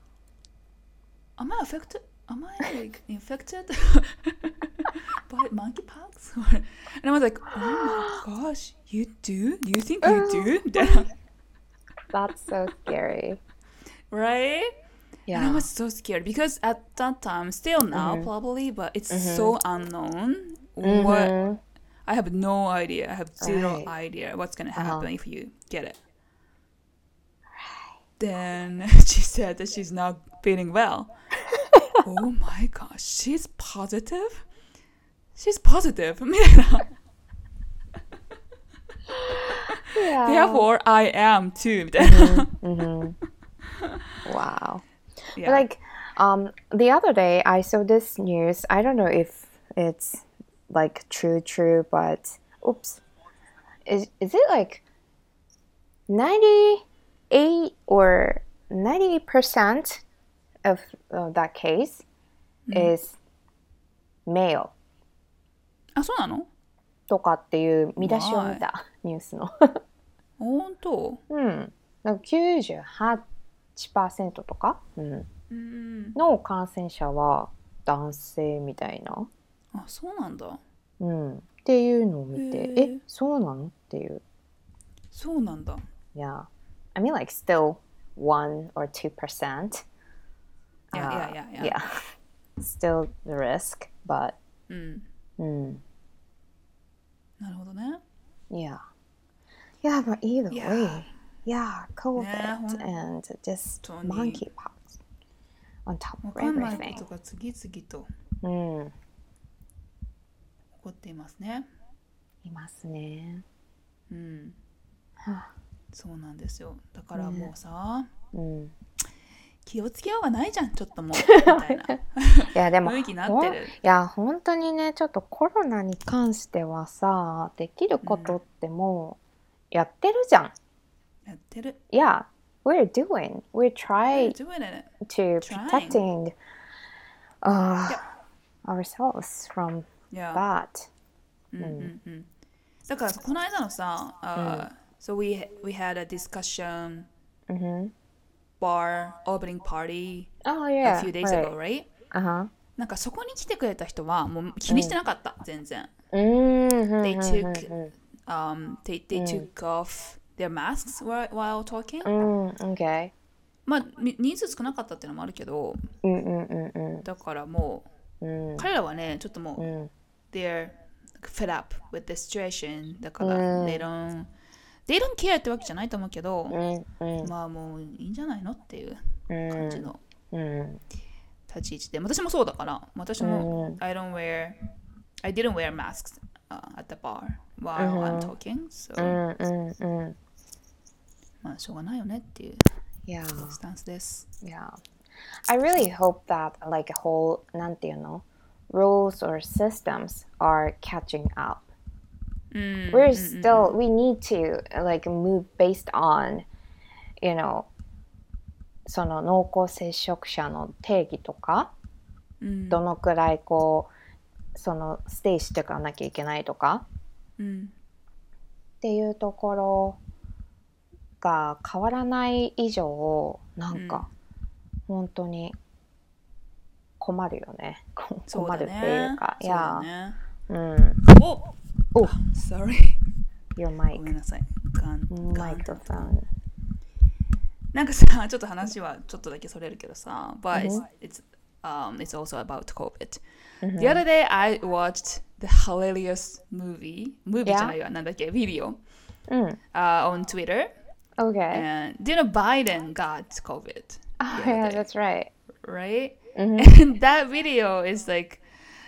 am I affected? Am I like infected by monkeypox? And I was like, oh my gosh, you do? You think you do? That's so scary. Right? And I Yeah. was so scared because at that time, still now probably, but it's so unknown. What I have no idea. I have zero Right. idea what's gonna happen if you get it. Then she said that she's not feeling well. Oh my gosh, she's positive? She's positive. みたいな Yeah. Therefore, I am too. みたいな Wow. Yeah. Like, the other day I saw this news. I don't know if it's like true, but oops. Is it like 98 or 90% of that case is male あ、そうなのとかっていう見出しを見たニュースの。 本当なんか98%とか、の感染者は男性みたいな、 あ、そうなんだ。 っていうのを見て、え、そうなのっていう。 そうなんだ。 Yeah. I mean like still 1 or 2%. Yeah. Still the risk, but なるほどね。 yeah. Yeah, but either Yeah. way, yeah, COVID ね、 and just 本当に monkeypox on top わ of かんないこ everything. とが次々とうん、 起こっていますね。 いますね。 そうなんですよ。だからもうさ、 うん。 気をつけようがないじゃん、ちょっともうみたいないやでも雰囲気になってる。 いや本当にね、ちょっとコロナに関してはさ、できることってもうやってるじゃん。 やってる。 Yeah, we're We're trying doing it. to Trying. protecting ourselves from Yeah. that. だからこの間のさ、so we had a discussion bar opening party Oh a yeah, few days ago, right? なんかそこに来てくれた人はもう気にしてなかった、全然。They took off their masks while talking. Okay. まあ人数少なかったっていうのもあるけど、だからもう、彼らはね、ちょっともう、they're fed up with the situation だから、they don't care ってわけじゃないと思うけど、まあもういいんじゃないのっていう感じの立ち位置で、私もそうだから、私も、I didn't wear masks、at the bar while I'm talking, so、まあしょうがないよねっていうスタンスです。 Yeah. I really hope that like a whole なんていうの rules or systems are catching up. We need to like move based on, you know, その濃厚接触者の定義とか、どのくらいこうそのステイしていかなきゃいけないとか、っていうところが変わらない以上なんか、本当に困るよね。困るっていうか、 そうだね。Sorry. Your mic. ごめんなさい。 マイクフォン。 なんかさ、ちょっと話はちょっとだけそれるけどさ、but it's also about COVID. The other day I watched the hilarious movie じゃないわ、なんだっけ、video on Twitter. Okay. And Biden got COVID. Oh yeah, that's right. Right? And that video is like,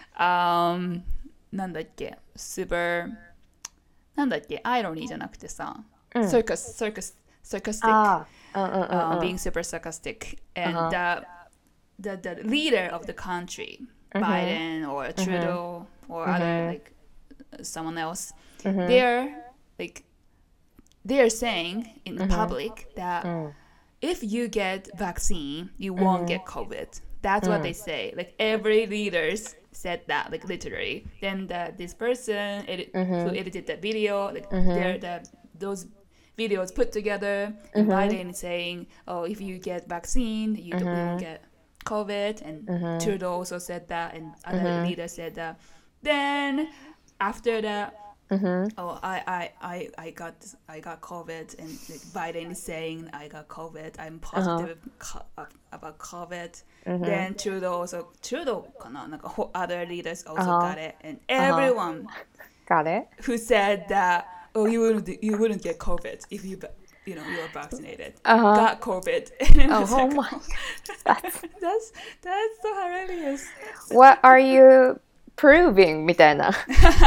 なんだっけ、super なんだっけ、アイロニーじゃなくてさ、sarcastic being super sarcastic. And the leader of the country, Biden or Trudeau or other like someone else, they're saying in public that if you get vaccine, you won't get COVID. That's what they say. Like every leaders said that, like literally. Then this person who edited that video, like those videos put together, and Biden saying, "Oh, if you get vaccine, you won't get COVID," and Trudeau also said that, and other leaders said that. Then after that, oh, I got COVID, and like, Biden is saying I got COVID. I'm positive about COVID. Then Trudeau かな、なんかother leaders also got it, and everyone Got it. who said that, oh, you wouldn't get COVID if you were vaccinated, got COVID. And Oh, like, my God. that's so hilarious. What are you proving? みたいな。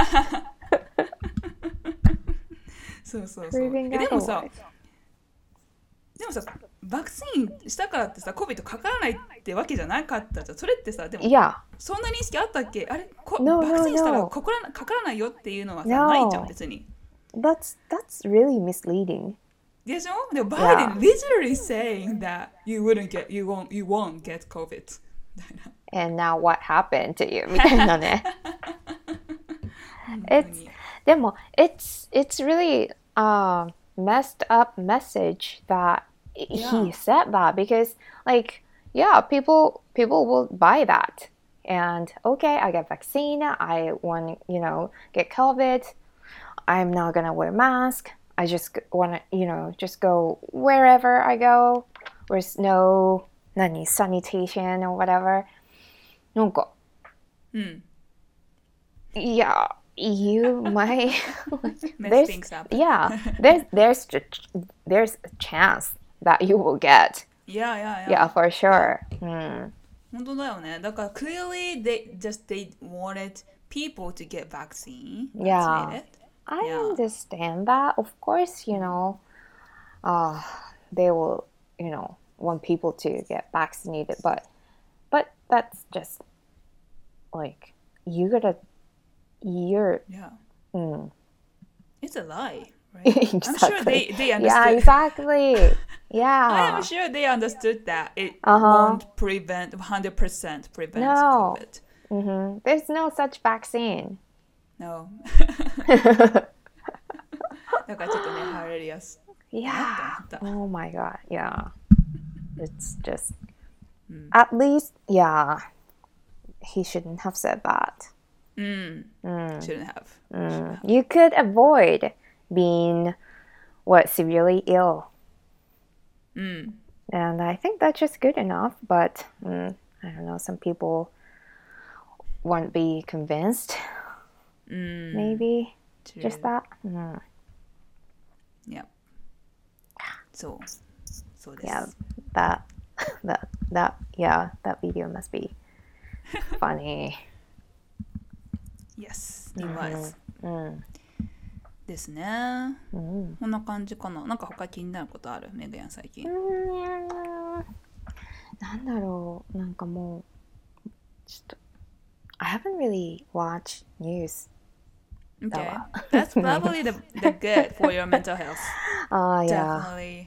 そうそうそう。 Proving でもさ otherwise. バクチンしたからってさ COVID かからないってわけじゃなかったじゃん。それってさ、でも Yeah. そんな認識あったっけ？あれ、 No, バクチンしたら no. かからないよっていうのはさ、 No. ないじゃん別に。 That's really misleading. でしょ？でも Biden literally saying that you won't get COVID. And now what happened to you? みたいなね。でも it's really messed up message that he said that, because like people will buy that, and okay, I get vaccine, I want get COVID, I'm not gonna wear mask, I just want to just go wherever I go, there's no sanitation or whatever. なんか yeah, you might Mess things up. there's a chance that you will get. Yeah. For sure. 本当だよね。だから clearly they wanted people to get vaccine. Yeah. I understand that. Of course, they will, want people to get vaccinated, but that's just like you're It's a lie, right? Exactly. I'm sure they understood. Yeah, exactly. Yeah. I am sure they understood that it won't prevent 100% prevent No. COVID. There's no such vaccine. No. だからちょっとね、hilarious. Yeah. Oh my God. Yeah. It's just at least, he shouldn't have said that. Shouldn't have. You could avoid being severely ill. And I think that's just good enough, but I don't know, some people won't be convinced. Maybe True. just that. Yeah. So this. Yeah, that video must be funny. Yes, it was. ですね。こんな感じかな。なんか他気になることある？メグヤン最近。 なんだろう、なんかもうちょっと I haven't really watched news. Okay, that's probably the good for your mental health. Definitely.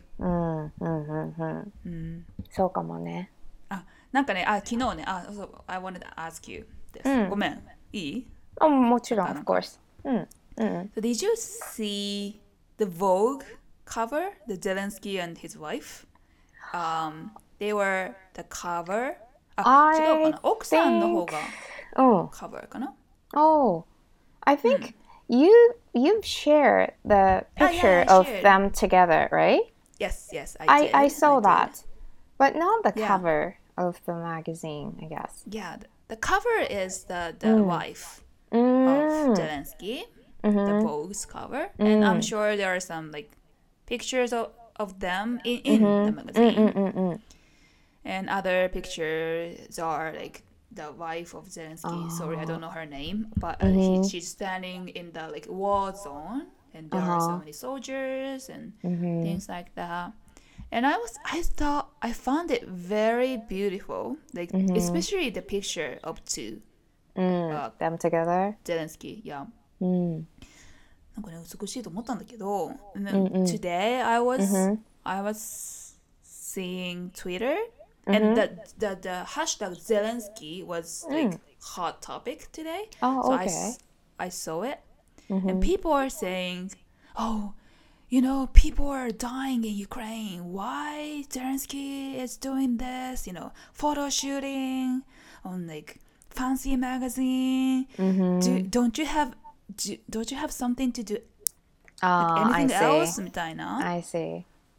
そうかもね。 なんかね、昨日ね、そう、I wanted to ask you this. ごめん、いい？ もちろん、of course. So did you see the Vogue cover, the Zelensky and his wife? They were the cover. 違うかな。奥さんの方がcover かな。 Oh, I think you've shared the picture of them together, right? Yes, I did. I saw that, but not the cover of the magazine, I guess. Yeah, the cover is the wife of Zelensky, the Vogue's cover, and I'm sure there are some like pictures of them in the magazine, and other pictures are like the wife of Zelensky. Sorry, I don't know her name, but she's standing in the like war zone, and there are so many soldiers and things like that. And I found it very beautiful, like especially the picture of two them together. Zelensky. Yeah. なんかね美しいと思ったんだけど、and then today I was seeing Twitter and the hashtag Zelensky was like hot topic today. Oh, So okay. I saw it and people are saying, oh, you know, people are dying in Ukraine. Why Zelensky is doing this? You know, photo shooting on like fancy magazine. Don't you have something to do? Like anything else? みたいな。 I see.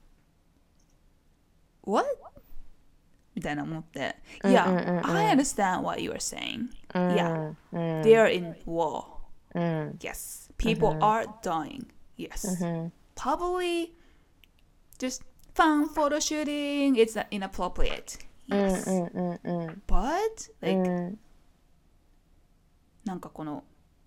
What? みたいな思って。Yeah, I understand what you are saying. Yeah, they are in war. Yes, people are dying. Yes. Probably just fun photo shooting. It's inappropriate. Yes. But like なんかこの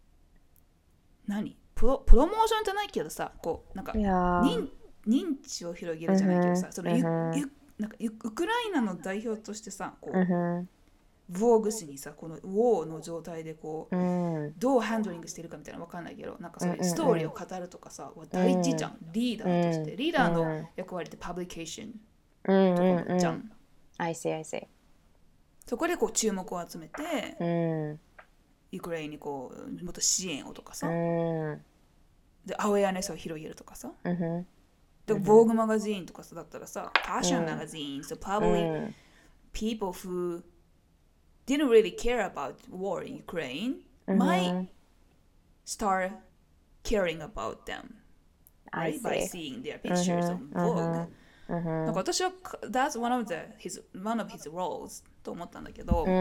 プロモーションじゃないけどさ、こうなんか認知を広げるじゃないけどさ、そのなんかウクライナの代表としてさ、こうVogue誌にさ、このウォーの状態でこう、どうハンドリングしてるかみたいなの分かんないけど、なんかそういうストーリーを語るとかさ、大事じゃん。リーダーとして、リーダーの役割ってパブリケーションとかじゃん。 I see. そこでこう注目を集めて、ウクライナにこうもっと支援をとかさ、でアウェアネスを広げるとかさ、でVogue マガジンとかさだったらさ、ファッションマガジン、so probably people who didn't really care about war in Ukraine might start caring about them, right? By seeing their pictures on Vogue. なんか私は that's one of his roles と思ったんだけど、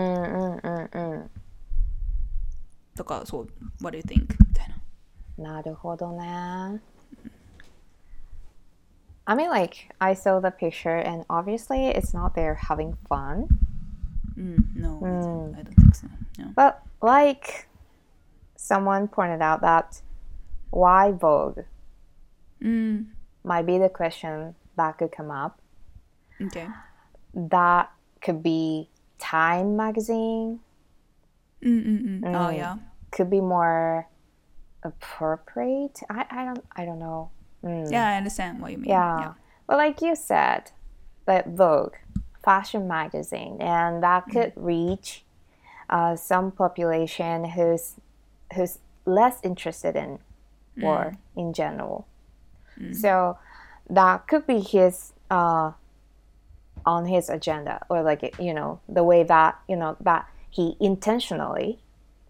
だからそう what do you think みたいな。 なるほどね。I mean, like, I saw the picture and obviously it's not there having fun. No, I don't think so. No. But like someone pointed out that why Vogue might be the question that could come up. Okay. That could be Time magazine. Oh yeah. Could be more appropriate. I don't know. Yeah, I understand what you mean. Yeah. But like you said, but Vogue, fashion magazine, and that could reach some population who's less interested in war in general. So that could be his on his agenda, or like, you know, the way that, you know, that he intentionally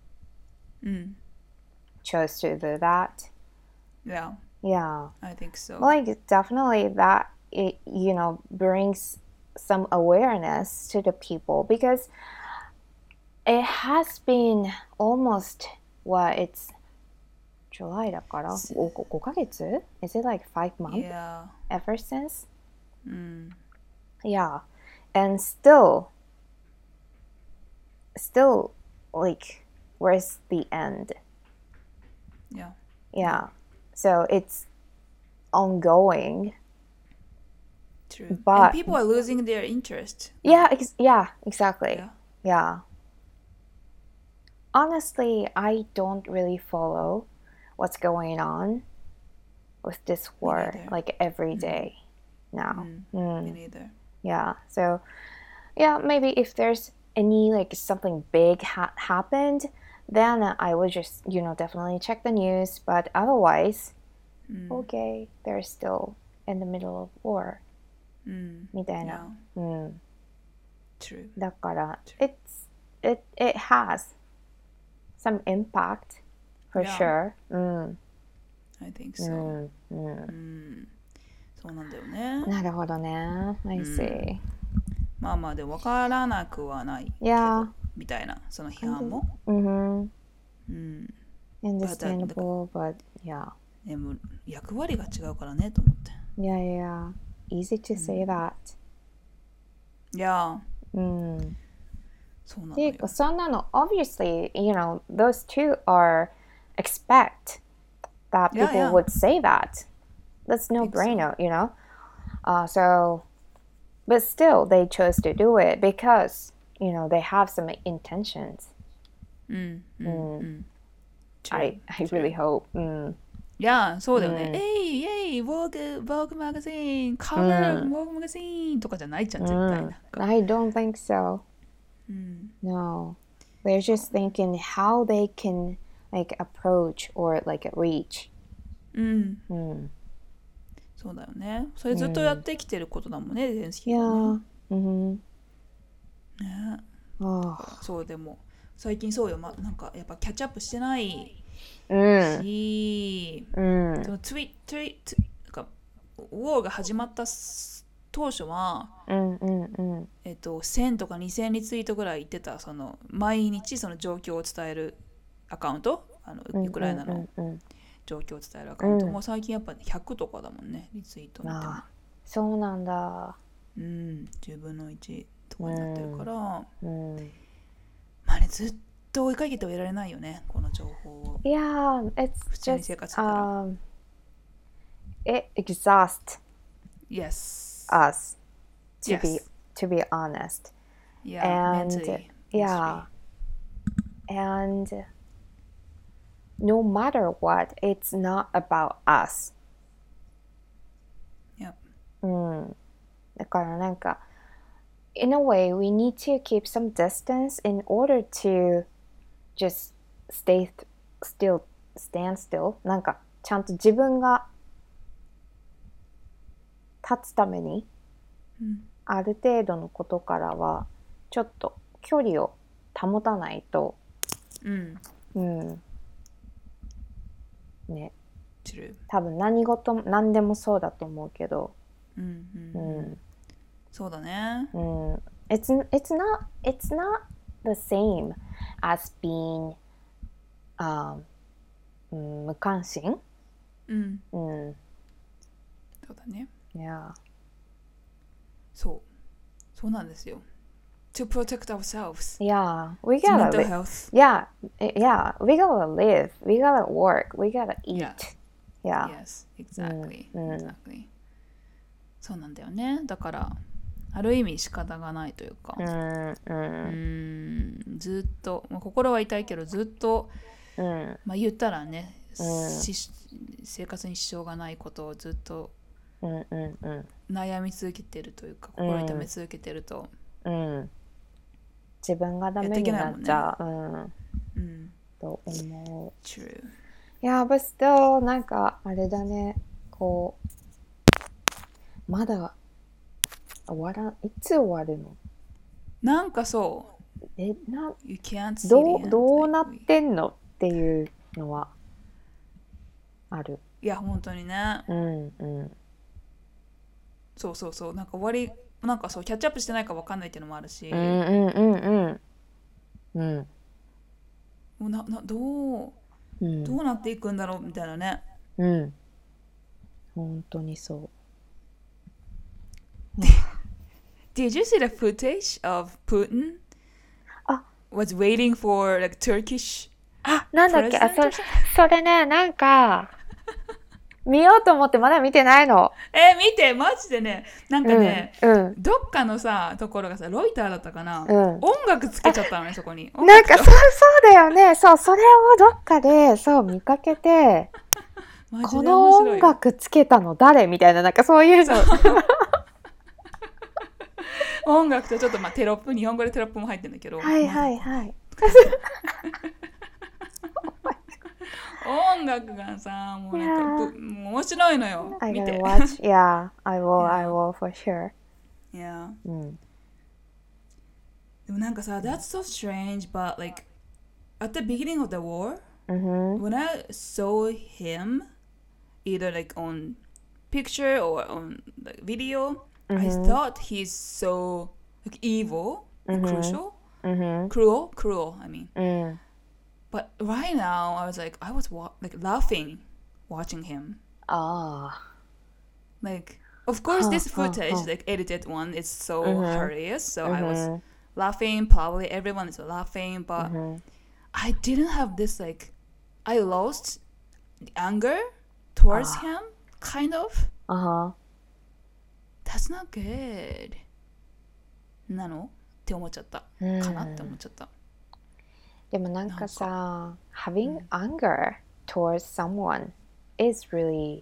chose to do that. Yeah. Yeah. I think so. Like definitely that it, you know, brings some awareness to the people, because it has been almost it's July だから5ヶ月? Is it like 5 months? Yeah. Ever since? Yeah. And still like where's the end? Yeah. Yeah. So it's ongoing. True. But and people are losing their interest. Yeah, exactly. Yeah. Yeah. Honestly, I don't really follow what's going on with this war like every day now. Me neither. Yeah. So, yeah, maybe if there's any like something big happened, then I would just, you know, definitely check the news. But otherwise, okay, they're still in the middle of war. みたいな。 True. だから、it has some impact for sure. I think so. そうなんだよね。 なるほどね。I see. まあまあで分からなくはないけど、みたいなその批判も。 Understandable, but yeah. でも役割が違うからねと思って。 Yeah. Easy to say that. Yeah. そうなのよ。 そんなの obviously, you know, those two are expect that people would say that. That's no brainer, you know. So but still they chose to do it because you know they have some intentions. I really hope. いや、そうだよね。えい、Vogue magazine、cover Vogue magazine とかじゃないじゃん、絶対。 I don't think so. No. They're just thinking how they can like approach or like reach. そうだよね。それずっとやってきてることだもんね、ゼレンスキーがね。ね。そうでも最近そうよ、なんかやっぱキャッチアップしてないし、そのなんかウォーが始まった当初は、1000とか2000リツイートぐらい言ってた、その毎日その状況を伝えるアカウント、ウクライナの状況を伝えるアカウントも最近やっぱ100とかだもんね、リツイート見ても。 そうなんだ。 10分の1とかになってるから、まあね、ずっと追いかけてはいられないよね、この情報を。 Yeah, it's 普通に生活してたら。 It exhausts Yes. us, to be honest. Yeah, And mentally. yeah, and no matter what, it's not about us. Yep. だからなんか in a way we need to keep some distance in order to just stand still. なんかちゃんと自分が立つために、ある程度のことからはちょっと距離を保たないと、ね、多分何でもそうだと思うけど、 そうだね。 It's not the same as being 無関心。 そうだね。 Yeah. そうなんですよ。To protect ourselves. Yeah, we gotta mental live. health. Yeah, we gotta live. We gotta work. We gotta eat. Yeah. Yes, exactly. Exactly. そうなんだよね。だからある意味仕方がないというか、ずっと、心は痛いけどずっと、言ったらね、生活に支障がないことをずっと悩み続けてるというか、心痛め続けてると、 自分がダメになっちゃう、と思う。 True. Yeah, but still なんかあれだね、こうまだいつ終わるの？ なんかそう。You can't see the end. どうなってんのっていうのはある。 いや本当にね。そうなんか終わり、なんかそうキャッチアップしてないか分かんないっていうのもあるし。どうなっていくんだろうみたいなね。 本当にそう。 Did you see the footage of Putin was waiting for like Turkish なんだっけ、それね、なんか見ようと思ってまだ見てないの。 見て、マジでね、なんかね、どっかのさところがさ、ロイターだったかな、音楽つけちゃったのね、そこに。 なんかそうだよね。それをどっかで見かけてこの音楽つけたの誰みたいな、なんかそういうの音楽とちょっとテロップ、日本語でテロップも入ってるんだけど、音楽がさ、もうなんか面白いのよ。見て。 Yeah, I will for sure. Yeah. でもなんかさ、that's so strange, but like at the beginning of the war, when I saw him, either like on picture or on like video, I thought he's so like evil, cruel. I mean. But right now, I was laughing watching him. Like, of course, this footage, like edited one, is so hilarious. So I was laughing. Probably everyone is laughing, but I didn't have this like. I lost anger towards him, kind of. That's not good. なのって思っちゃった、 うんかなって思っちゃった。 でもなんかさ、having anger towards someone is really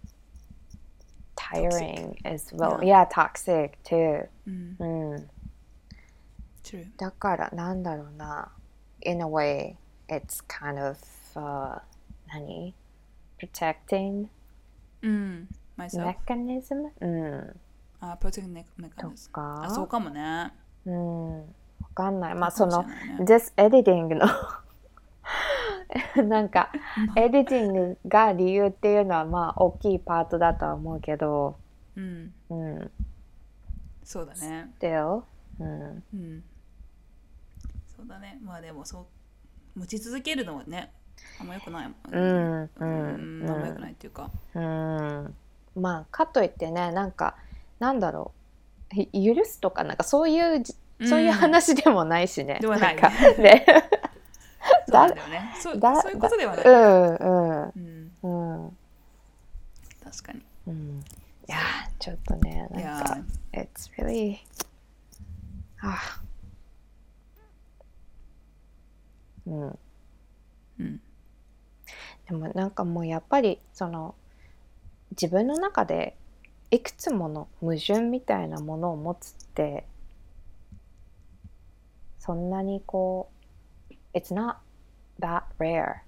tiring as well. Yeah, toxic too. うん。 True. だからなんだろうな。In a way, it's kind of何 protecting myself. mechanism? うん。 protecting mechanism. とかあ、そうかもね。 わかんない。まあそのそうかもしれないね。 this editing のなんかエディティングが理由っていうのはまあ大きいパートだとは思うけど、 そうだね。 still、 そうだね。まあでもそう持ち続けるのはね、あんま良くないもん。あんま良くないっていうか。 まあかといってね、なんかなんだろう、許すとかなんかそういう話でもないしね。 ではない。 なんかね。 そうなんだよね。そういうことではない。確かに。 いやちょっとね、なんか it's really でもなんかもうやっぱりその自分の中でいくつもの矛盾みたいなものを持つってそんなにこう it's not that rare。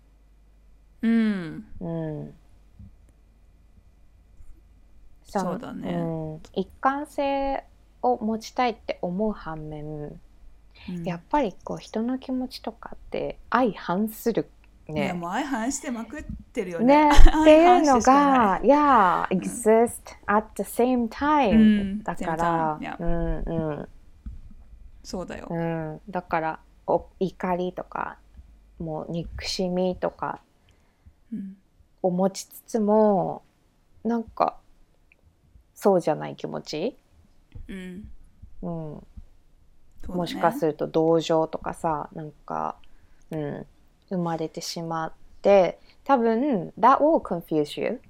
そうだね。 一貫性を持ちたいって思う反面、やっぱりこう人の気持ちとかって相反するね。 いやもう相反してまくってるよね。 っていうのがexist at the same time、だから、 そうだよ。 だから怒りとかもう憎しみとかを持ちつつも、なんかそうじゃない気持ち、もしかすると同情とかさ、なんか、生まれてしまって、多分 that will confuse you。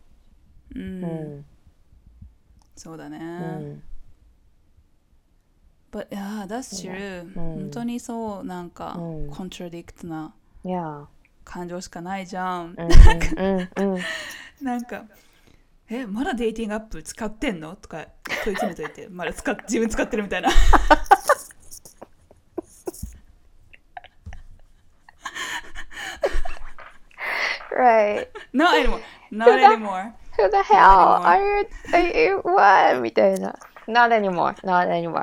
そうだね。But yeah, that's true。本当にそう、なんかコントラディクトな感情しかないじゃん。なんかまだデーティングアップ使ってんのとか問い詰めといて、まだ自分使ってるみたいな。 Right. Not anymore. Not anymore. Who the hell are you? What? みたいな。Not anymore. Not anymore.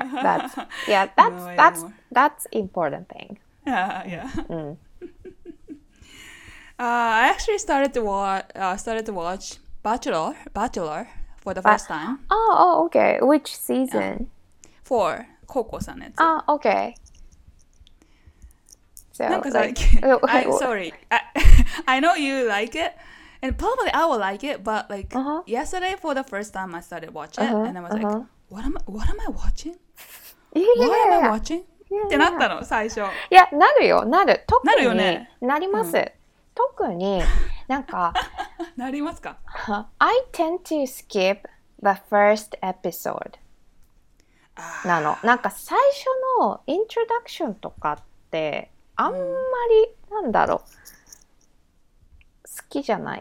That's important thing. Yeah. I actually started to watch Bachelor for the first time. Oh, okay. Which season? 4. 高校さんのやつ。 Okay. So, なんかさ、sorry. I know you like it, and probably I will like it, but like yesterday for the first time I started watching it, and I was like, what am I watching? What am I watching? ってなったの最初。 いや、なるよ、なる。特になるよね。 なります。特になんかなりますか ？I tend to skip the first episode なの。なんか最初のイントロダクションとかってあんまりなんだろう、好きじゃない。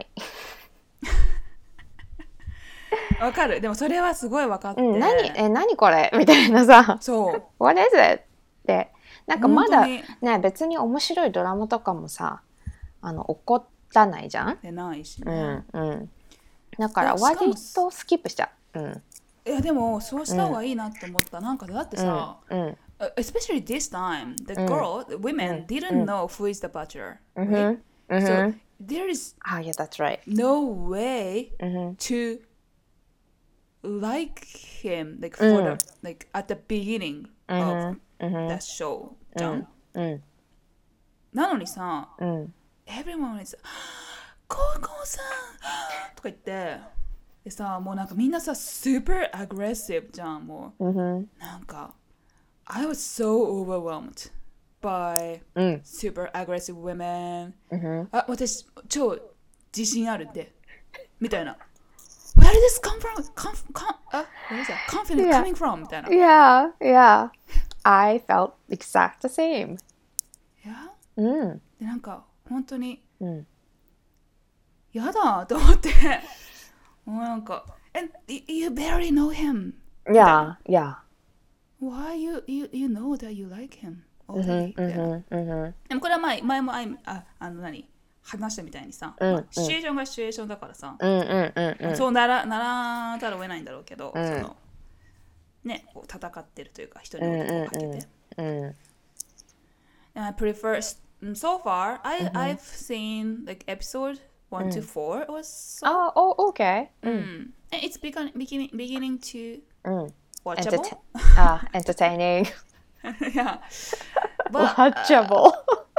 わかる。でもそれはすごいわかって。 何これみたいなさ。 そう。 What is it? ってなんかまだね、別に面白いドラマとかもさ、起こらないじゃん。 でないしね。 だから割とスキップしちゃう。 いやでもそうした方がいいなって思った。なんかだってさ、especially this time, the women didn't know who is the bachelor, right? So there is that's right. no way to like him like for like at the beginning of that show じゃん。なのにさ、everyone is 高校さんとか言ってでさ、もうなんかみんなさ super aggressive じゃん。もうなんかI was so overwhelmed by super aggressive women、私超自信あるってみたいな Where did this come from? What is that? Confidence Yeah. coming from? みたいな。 Yeah, yeah. I felt exact the same. いやうん。 でなんか本当にうん。 やだと思ってもうなんか And you barely know him Yeah, yeah. Why you know that you like him うん already うんみたいなうんうんでもこれは前も何話したみたいにさ、まあシチュエーションがシチュエーションだからさ、 うんうんうんそうならざるを得ないんだろうけど、 うんそのねこう戦ってるというか人に男をかけて、 うん。 And I prefer so far I've seen like episode 1 to 4 or so. Oh, okay. And it's beginning to うん。 watchable. Entertaining. Yeah. But Watchable.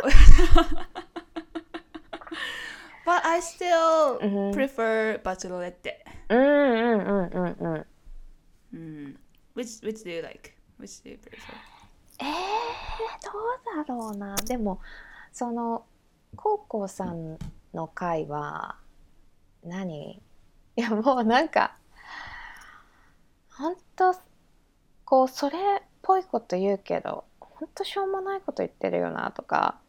but I still prefer Bachelorette. うんうんうんうんうん。 Which do you like? Which do you prefer? どうだろうな。でもそのコウコさんの回は何？いやもうなんか本当こうそれっぽいこと言うけど本当しょうもないこと言ってるよなとか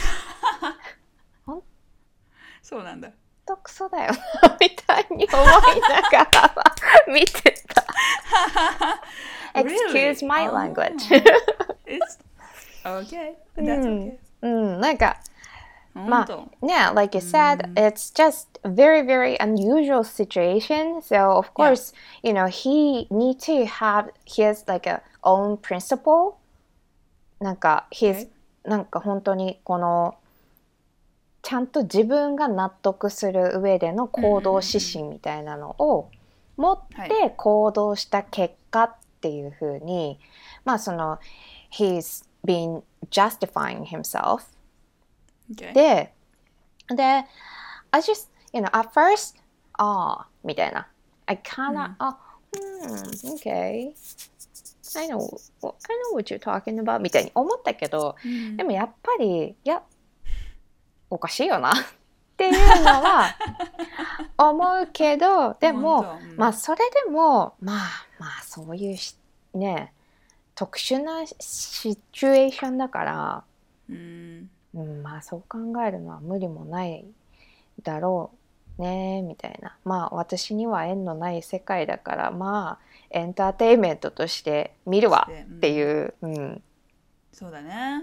本そうなんだ。 当クソだよなみたいに思いながら見てた。Excuse my language. It's okay. That's okay. なんかま本当。 あ、yeah, like you said, it's just a very, very unusual situation. So, of course, you know, he need to have his like a own principle. なんか、なんか本当にこのちゃんと自分が納得する上での行動指針みたいなのを持って行動した結果っていうふうに、まあその he's been justifying himself. Okay. で、I just, you know, at first, みたいな。I kinda, okay. I know what you're talking about みたいに思ったけど、でもやっぱり、いや、おかしいよなっていうのは思うけど、でも、まあそれでも、まあそういうね、特殊なシチュエーションだから、まあそう考えるのは無理もないだろうねみたいな。まあ私には縁のない世界だからまあエンターテインメントとして見るわっていう、 そうだね。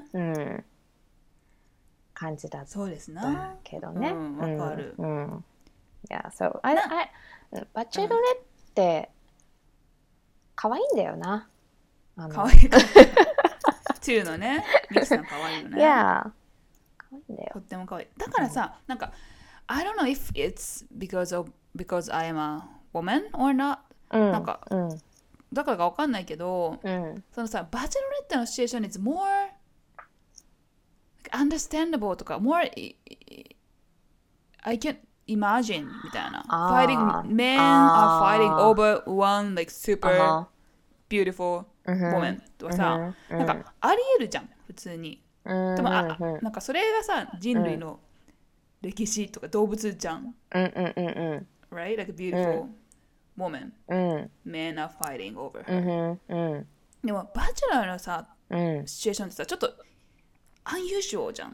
感じだったそうですな。 けどね。 わかる。 Yeah, soバチェロレって可愛いんだよな。 可愛い。2のね、ミキさん可愛いよね。 Yeah. とっても可愛い。だからさ、なんか I don't know if it's because I am a woman or not、なんか、だからかわかんないけど、そのさバチェロレッテのシチュエーション is more understandable とか more I can imagine みたいな。fighting men are fighting over one like super beautiful woman とかさ、なんかありえるじゃん普通に。でもなんかそれがさ人類の歴史とか動物じゃん。Right? Like a beautiful woman. Men are fighting over her. でもバチェラーのさシチュエーションってさちょっとunusualじゃん。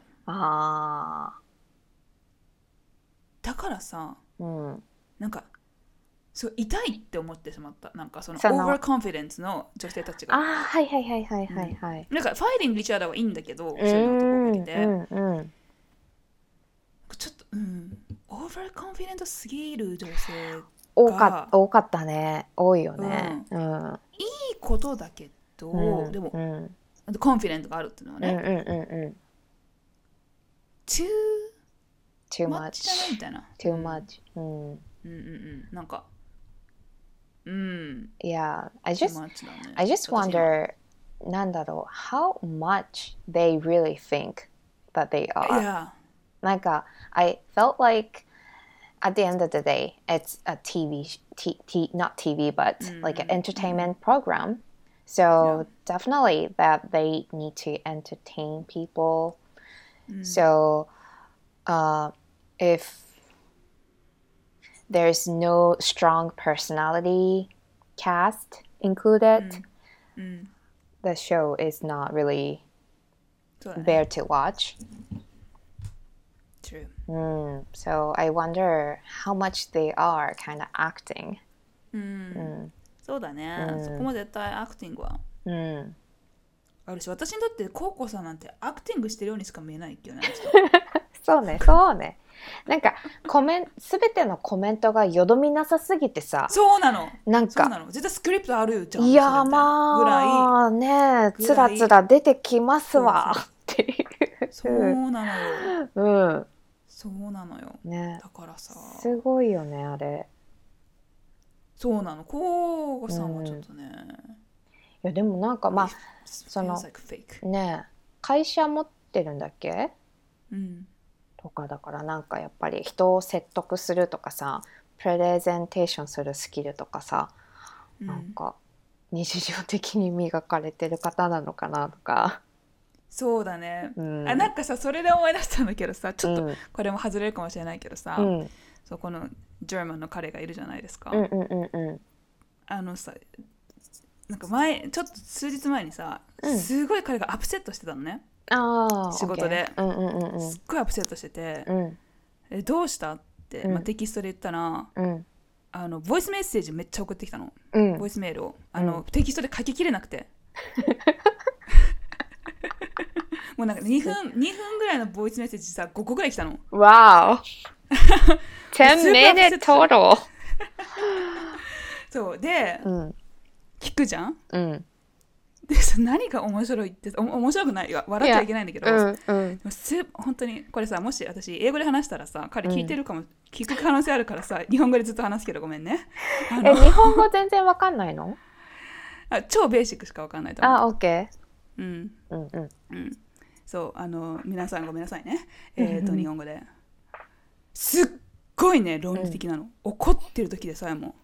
だからさ、なんかそう痛いって思ってしまった。なんかそのオーバーコンフィデンスの女性たちが。 はいはい。 なんかファイティングリチャードはいいんだけど、そういうの男をかけて。ちょっとオーバーコンフィデントすぎる女性が多かったね。多いよね。 いいことだけど、でもコンフィデントがあるっていうのはね。too much じゃないみたいな。 too much。 なんか。 Yeah, I just wonder なんだろう how much they really think that they are. Yeah. なんか I felt like at the end of the day it's a not TV but like an entertainment program. So definitely that they need to entertain people. So if there's no strong personality cast included, the show is not really そうだね。 there to watch. True. So I wonder how much they are kind of acting. そうだね、そこも絶対アクティングはあるし、私にとってコウコさんなんてアクティングしてるようにしか見えないけどね。 そうね、そうね。なんかすべてのコメントがよどみなさすぎてさ。 そうなの。 なんかそうなの。絶対スクリプトあるじゃん。 いやまあね、つらつら出てきますわっていう。 そうなのよ。 うん。 そうなのよ。 ね。 だからさ。 すごいよねあれ。 そうなの。コウコさんはちょっとね。 いやでもなんかまあそのね、会社持ってるんだっけ？とかだからなんかやっぱり人を説得するとかさ、プレゼンテーションするスキルとかさ、なんか日常的に磨かれてる方なのかなとか。 そうだね、なんかさ、それで思い出したんだけどさ、ちょっとこれも外れるかもしれないけどさ、そこのジャーマンの彼がいるじゃないですか。あのさ、なんかちょっと数日前にさ、すごい彼がアップセットしてたのね。仕事で、すっごいアップセットしてて、どうしたって、テキストで言ったら、ボイスメッセージめっちゃ送ってきたの、ボイスメールをテキストで書ききれなくてもうなんか2分ぐらいのボイスメッセージさ5個ぐらい来たの。 わー10 minutes total そうで、聞くじゃん、で何が面白いって面白くないよ、笑っちゃいけないんだけど、本当にこれさ、もし私英語で話したらさ、彼聞いてるかも、聞く可能性あるからさ、日本語でずっと話すけどごめんね。 日本語全然わかんないの？ 超ベーシックしかわかんないと思う。 OK。 そう皆さんごめんなさいね。日本語ですっごいね論理的なの、怒ってる時でさえも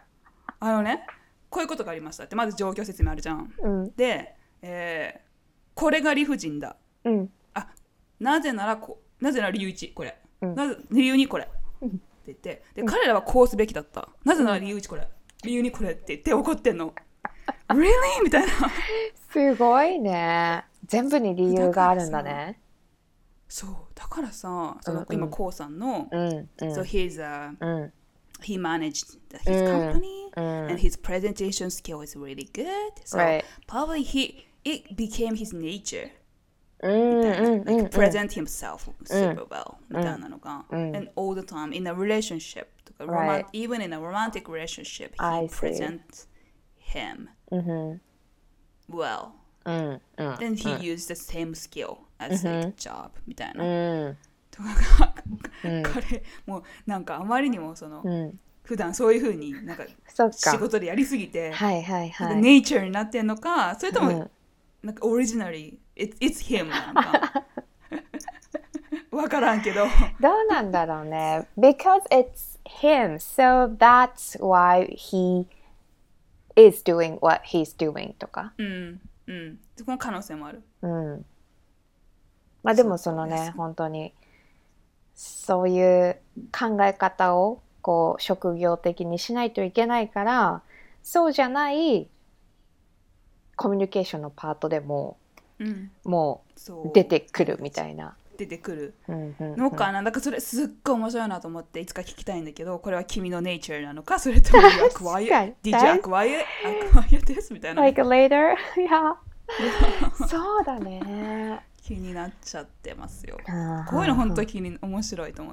こういうことがありましたってまず状況説明あるじゃん、で、これが理不尽だ、なぜなら理由1これ、理由2これ、って言ってで、彼らはこうすべきだった、なぜなら理由1これ、理由2これって言って怒ってんのReally? みたいな。 すごいね。全部に理由があるんだね。 そうだからさ、今コウさんの、so he managed his company and his presentation skill is really good, so probably it became his nature, like present himself super well みたいなのが、and all the time in a relationship, even in a romantic relationship he presents him well, then he used the same skill as like job みたいな、とか彼もうなんかあまりにも普段そういう風になんか仕事でやりすぎて、ネイチャーになってんのか、それともなんかオリジナリー it's him なのかわからんけど、 どうなんだろうね。Because it's him, so that's why he is doing what he's doing とか。 その可能性もある。 まあでも本当にそういう考え方をこう職業的にしないといけないから、そうじゃないコミュニケーションのパートでも、もう出てくるみたいな。 出てくるのかな。だからそれすっごい面白いなと思っていつか聞きたいんだけど、これは君のネイチャーなのか、それとも Did you acquire this? みたいな。 Like later? Yeah. そうだね。 気になっちゃってますよ。こういうの本当に面白いと思って。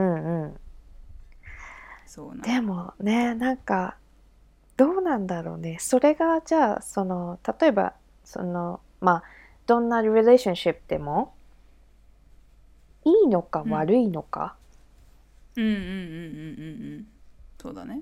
そうでもね、なんかどうなんだろうね。それがじゃあ例えばまあどんなリレーションシップでもいいのか悪いのか。 そうだね。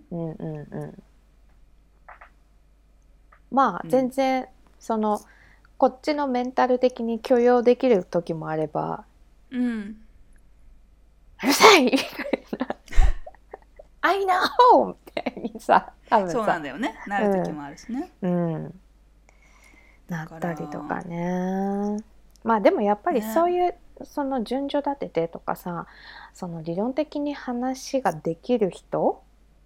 まあ全然こっちのメンタル的に許容できる時もあれば、うるさいみたいなI know! みたいにさ、多分さ、 そうなんだよね。なる時もあるしね。 なったりとかね。まあでもやっぱりそういうその順序立ててとかさ、その理論的に話ができる人、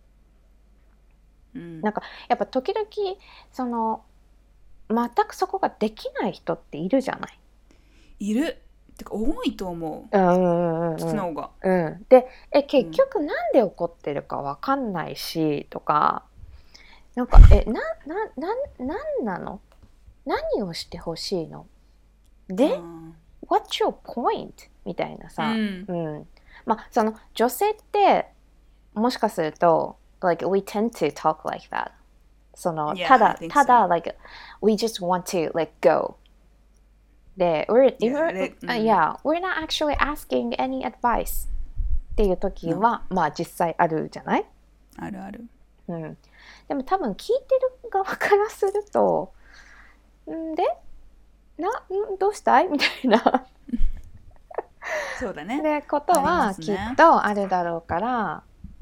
なんかやっぱ時々その全くそこができない人っているじゃない。 いる。てか多いと思う。その方が。 で、結局なんで怒ってるかわかんないしとか、なんかなんなの？何をしてほしいの？で、What's your point? みたいなさ、まあその女性ってもしかすると like we tend to talk like that。そのただ like we just want to let go。で、we're not actually asking any advice っていう時は、まあ実際あるじゃない？ あるある。 でも多分聞いてる側からすると、どうしたいみたいなそうだね。 でことはきっとあるだろうから、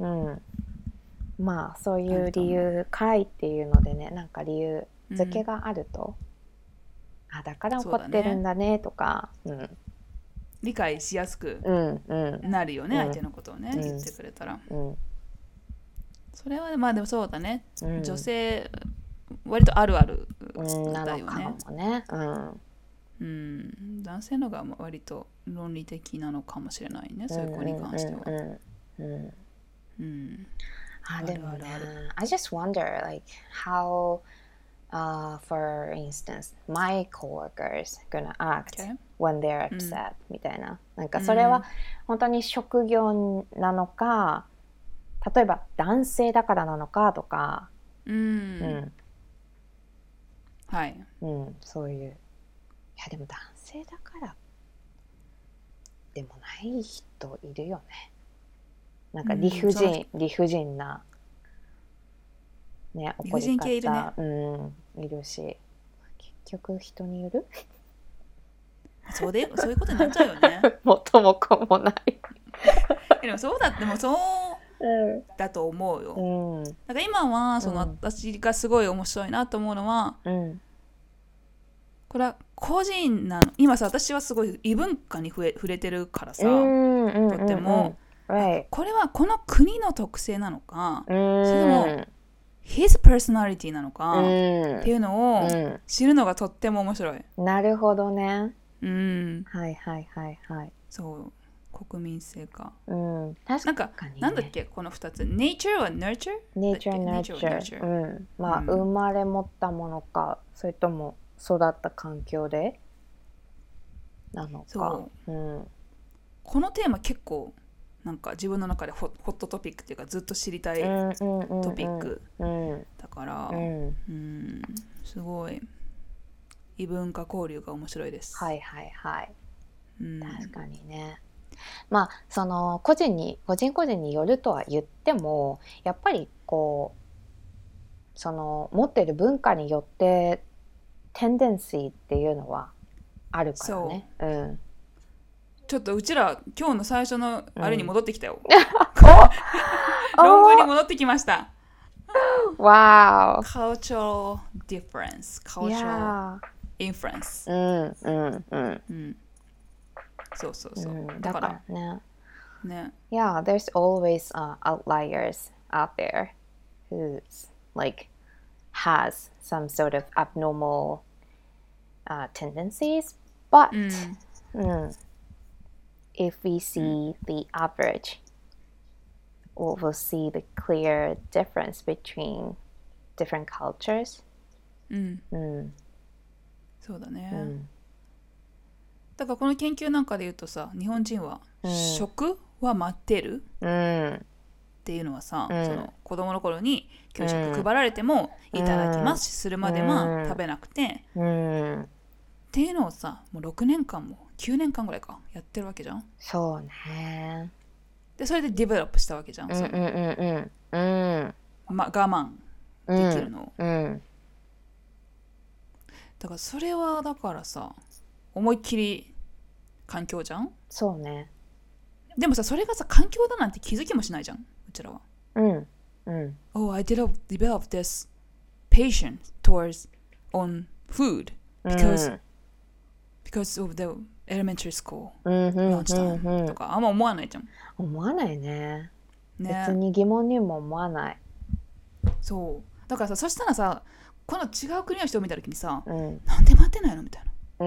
まあそういう理由かいっていうのでね、なんか理由付けがあると、だから怒ってるんだねとか、 理解しやすくなるよね、相手のことをね、言ってくれたら。それはまあでもそうだね、女性割とあるあるだよね。男性のが割と論理的なのかもしれないね、そういう子に関しては。 でもね、I just wonder like how for instance my coworkers gonna act when they're upset みたいな。なんかそれは本当に職業なのか、例えば男性だからなのかとか、 はい、 そういう、いやでも男性だからでもない人いるよね。なんか理不尽なね、怒り方、いるし、結局人によるそういうことになっちゃうよね。 元も子もない。 でもそうだと思うよ。だから今はその私がすごい面白いなと思うのは、これは個人なの。今さ、私はすごい異文化に触れてるからさ、とっても、これはこの国の特性なのか、それともhis personality なのかっていうのを知るのがとっても面白い。 なるほどね。はいはいはいはい。 そう、国民性か。 確かにね。 なんだっけこの2つ。nature は nurture？nature。 まあ生まれ持ったものか、それとも育った環境でなのか。 このテーマ結構なんか自分の中でホットトピックっていうかずっと知りたいトピックだから、すごい異文化交流が面白いです。 はいはいはい。確かにね。まあその個人個人によるとは言っても、やっぱりこうその持っている文化によってテンデンシーっていうのはあるからね。 ちょっとうちら今日の最初のあれに戻ってきたよ。論文に戻ってきました。 Wow. Cultural difference, cultural influence. そうそうそう。だからね。 Yeah, there's always outliers out there who's like has some sort of abnormal tendencies, but if we see the average, we'll see the clear difference between different cultures. そうだね。だからこの研究なんかで言うとさ、日本人は食は待ってるっていうのはさ、その子供の頃に給食配られてもいただきますするまでは食べなくて、っていうのをさ、もう6年間も9年間ぐらいかやってるわけじゃん。 そうね。 でそれでディベロップしたわけじゃん。我慢できるのを。だからそれはだからさ、思いっきり環境じゃん。 そうね。 でもさ、それがさ環境だなんて気づきもしないじゃん、うちらは。Oh, I developed this patience towards on food because of the elementary school うんうんランチタイうんうんムとかあんま思わないじゃん。 思わないね。 ね、 別に疑問にも思わない。 そうだからさ、そしたらさ、この違う国の人を見た時にさ、 うん。 なんで待ってないのみたいな。 うん。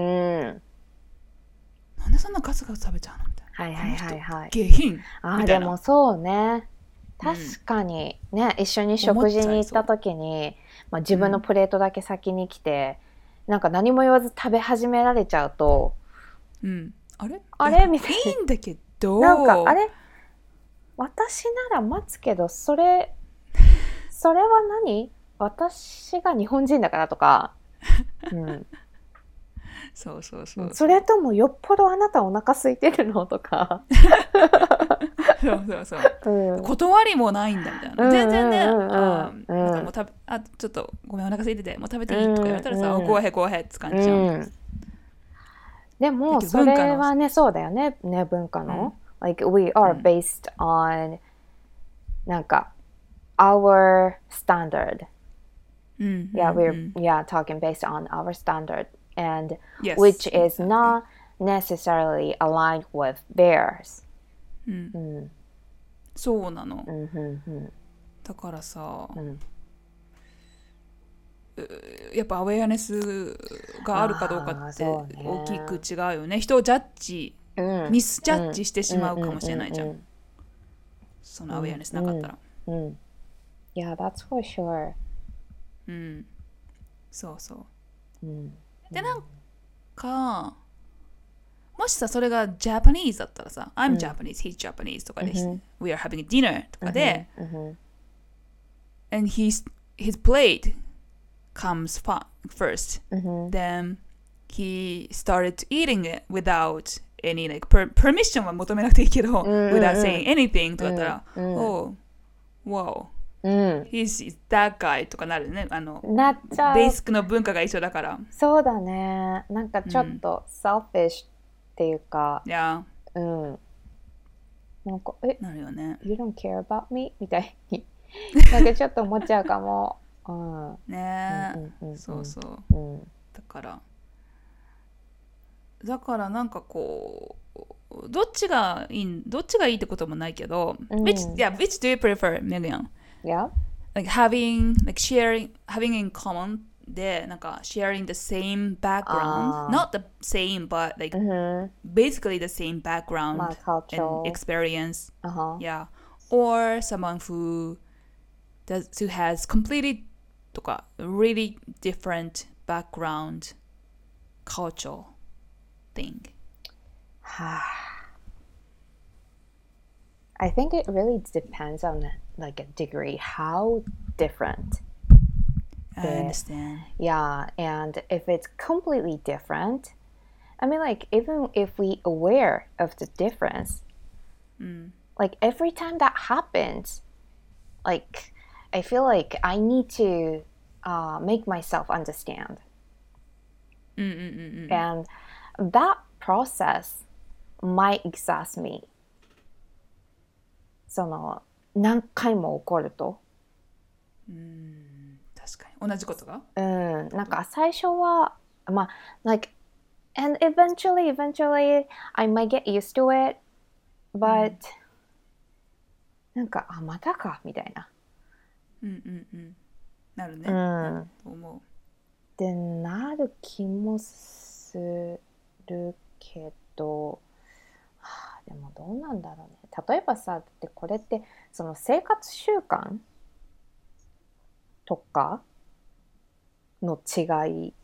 なんでそんなガツガツ食べちゃうのみたいな。 はいはいはいはい。 下品ああ、 みたいな。 でもそうね。確かにね、一緒に食事に行った時に、まあ、自分のプレートだけ先に来て、なんか何も言わず食べ始められちゃうと、 うん、あれみたいいいんだけど、 な。なんかあれ私なら待つけど、それは何？私が日本人だからとか、うん、 そうそうそう、 それともよっぽどあなたお腹空いてるのとかそうそうそう、うん、断りもないんだみたいな、全然ね、なんかもうちょっとごめんお腹空いててもう食べていいとか言われたらさ、ごへんごへんって感じじゃん。 でもそれはね、そうだよね、文化の、like we are based on なんか our standard. Yeah, we're talking based on our standard, and which is not necessarily aligned with theirs. そうなの。だからさ、やっぱアウェアネスがあるかどうかって大きく違うよね。人をジャッジ、ミスジャッジしてしまうかもしれないじゃん。そのアウェアネスなかったら。 Yeah, that's for sure. そうそう。でなんかもしさそれがジャパニーズだったらさ、I'm Japanese, he's Japanese とかで、We are having a dinner とかで、and his plate comes first, then he started eating it without any like permission は求めなくていいけど、without saying anything とかだったら、oh, wow.He's that guy とかなるね。 なっちゃう。 ベーシックの文化が一緒だから。 そうだね。なんかちょっと selfish っていうか、なんかなるよね。 You don't care about me? みたいになんかちょっと思っちゃうかも。 ねえ、そうそう。だからなんかこうどっちがいいってこともないけど、which do you prefer, Megan?Yeah. Like having in common でなんか sharing the same background, not the same but like basically the same background and experience. Yeah. Or someone who has completely とか really different background cultural thing. I think it really depends on like a degree how different. I understand. Yeah, and if it's completely different, I mean like even if we aware of the difference, like every time that happens, like I feel like I need to make myself understand. And that process might exhaust me. その何回も起こると、 確かに同じことが、 なんか最初はまあ like and eventually I might get used to it, but なんかまたかみたいな、 なるね、と思う。 でなる気もするけど。でもどうなんだろうね。例えばさ、だってこれってその生活習慣とかの違い、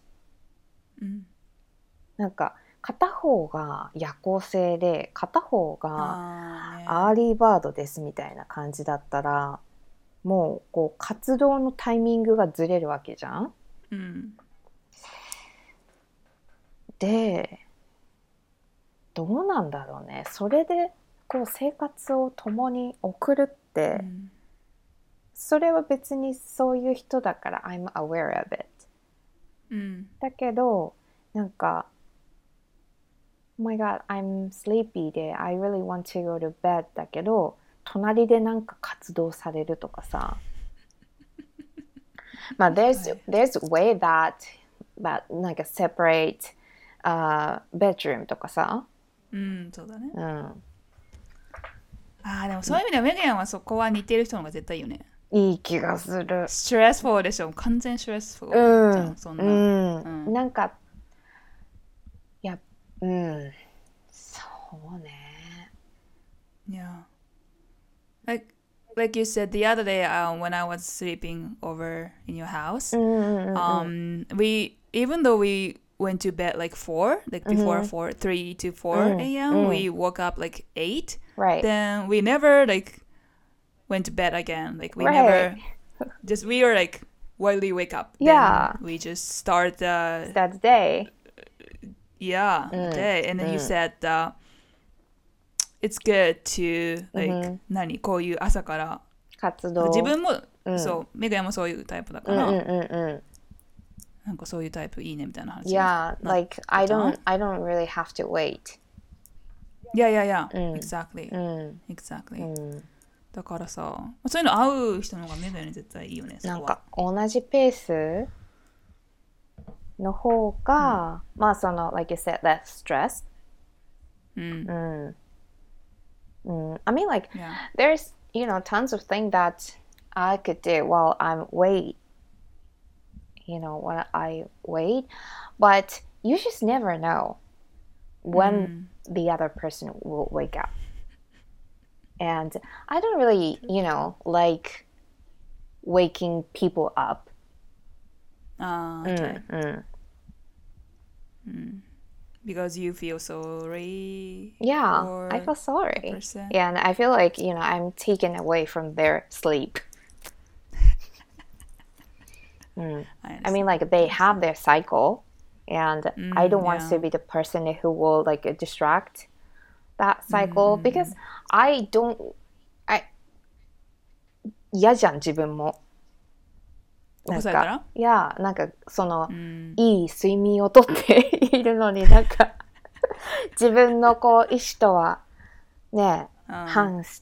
なんか片方が夜行性で片方がアーリーバードですみたいな感じだったら、もうこう活動のタイミングがずれるわけじゃん。でどうなんだろうね。それでこう生活を共に送るって、それは別にそういう人だから I'm aware of it、だけどなんか Oh my god I'm sleepy で I really want to go to bed だけど隣でなんか活動されるとかさまあthere's way that なんか separate bedroom とかさ、 うん、そうだね。 うん、 ああ、でもそういう意味ではメガヤンはそこは似てる人の方が絶対いいよね。 いい気がする。 ストレスフォーでしょ。完全ストレスフォうーじゃん、 ん、 そんうな。 ん、なんか、いや、うん、そうね。 Yeah. Like you said the other day, when I was sleeping over in your house, うんうんうんうん we even though we went to bed like 4, like before 4, 3 to 4 a.m., we woke up like 8. Right. Then we never like went to bed again. Like we Right. never just we were like wildly wake up. Yeah. Then we just start the Start the day. day. And then you said it's good to like 何こういう朝から活動。 自分も、そうメガヤもそういうタイプだから、なんかそういうタイプいいねみたいな話。 Yeah, like I don't really have to wait. Yeah, exactly. Exactly. だからさ、そういうの合う人の方がメガヤに絶対いいよね。 なんか同じペースの方が、まあその like you said, less stress. I mean, like, there's, tons of things that I could do while I'm when I wait, but you just never know when the other person will wake up. And I don't really, like waking people up. Okay. Because you feel sorry. Yeah, I feel sorry. Person. Yeah, and I feel like, I'm taken away from their sleep. I mean, like, they have their cycle, and I don't want to be the person who will, like, distract that cycle, because嫌じゃん、自分も。 起こされたら？ いや、なんかその、いい睡眠をとっているのになんか自分のこう意思とはね、反して、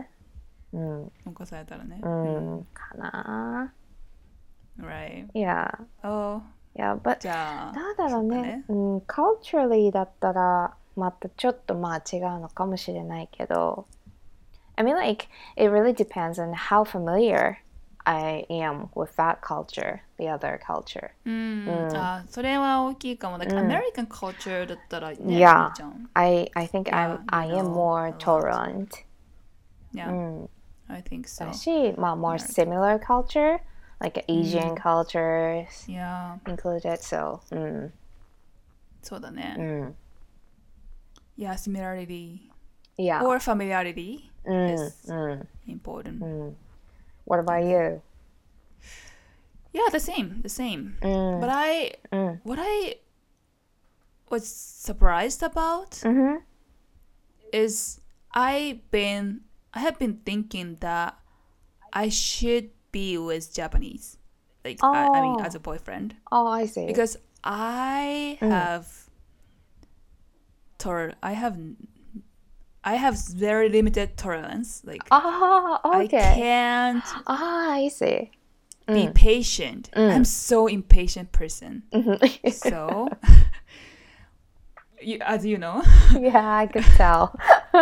起こされたらね。 かな。 Right. Yeah. Oh. Yeah, but じゃあなんだろうね。culturally だったらまたちょっとまあ違うのかもしれないけど、I mean, like, it really depends on how familiar I am with that culture, the other culture. それは大きいかも。Like American culture だったらね、 Yeah, いいじゃん。 I think I am more tolerant. Yeah, I think so. だし、まあ more similar culture, like Asian cultures included, so. そうだね。Yeah, similarity. Yeah. Or familiarity is important. What about you? Yeah, the same. But what I was surprised about is I have been thinking that I should be with Japanese, like I mean as a boyfriend. Oh, I see. Because I have I have very limited tolerance. Like okay. I can't I see. be patient. I'm so impatient person. So, as you know. Yeah, I could tell.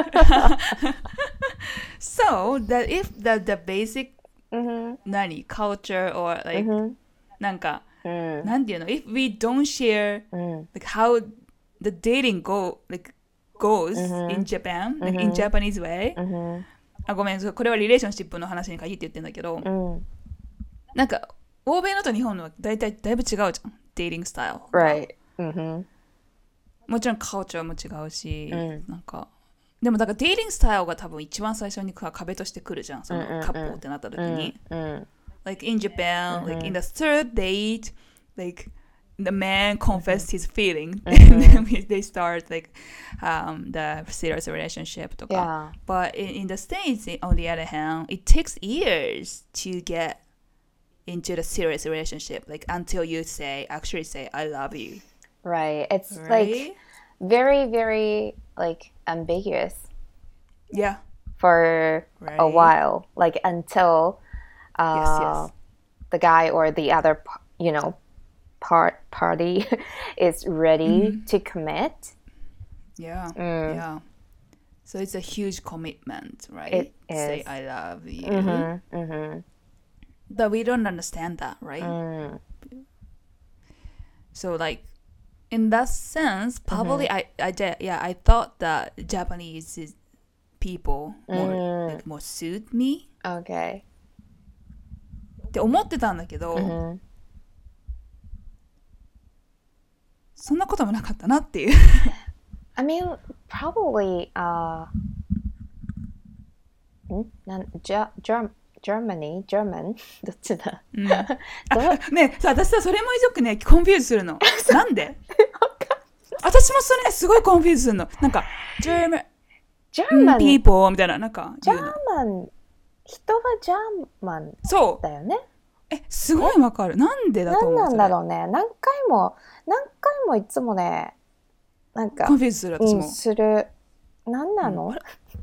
So that if the basic culture or like なんか、なんていうの if we don't share like how the dating goes in Japan, like in Japanese way. あ、ごめん、これはリレーションシップの話に限って言ってんだけど、なんか欧米のと日本のはだいぶ違うじゃん、デーティングスタイル。 Right. もちろんカルチャーも違うし、なんかでもだからデーティングスタイルが多分一番最初に壁としてくるじゃん、そのカップルってなった時に。Like in Japan, like in the third date, like the man confessed his feeling and then they start like the serious relationship とか。But in the States, on the other hand, it takes years to get into the serious relationship, like until you actually say I love you. Right. It's like very, very like ambiguous. Yeah. For a while, like until yes. the guy or the other, party is ready to commit. Yeah, yeah. So it's a huge commitment, right? It is. Say I love you. But we don't understand that, right? So like in that sense, probably I thought that Japanese people more suit me Okay. って思ってたんだけど、そんなこともなかったなっていう。 I mean, probably, German? どっちだ、 ねさ、私さ、それもよくね、コンフューズするの。なんで私もそれすごいコンフューズするの。なんか、German people みたいな、なんか言うの。 人はジャーマンそうだよね。 すごいわかる。なんでだと思う。 なんだろうね。何回もいつもね、なんかコンフューズする、私も。 する。なんなの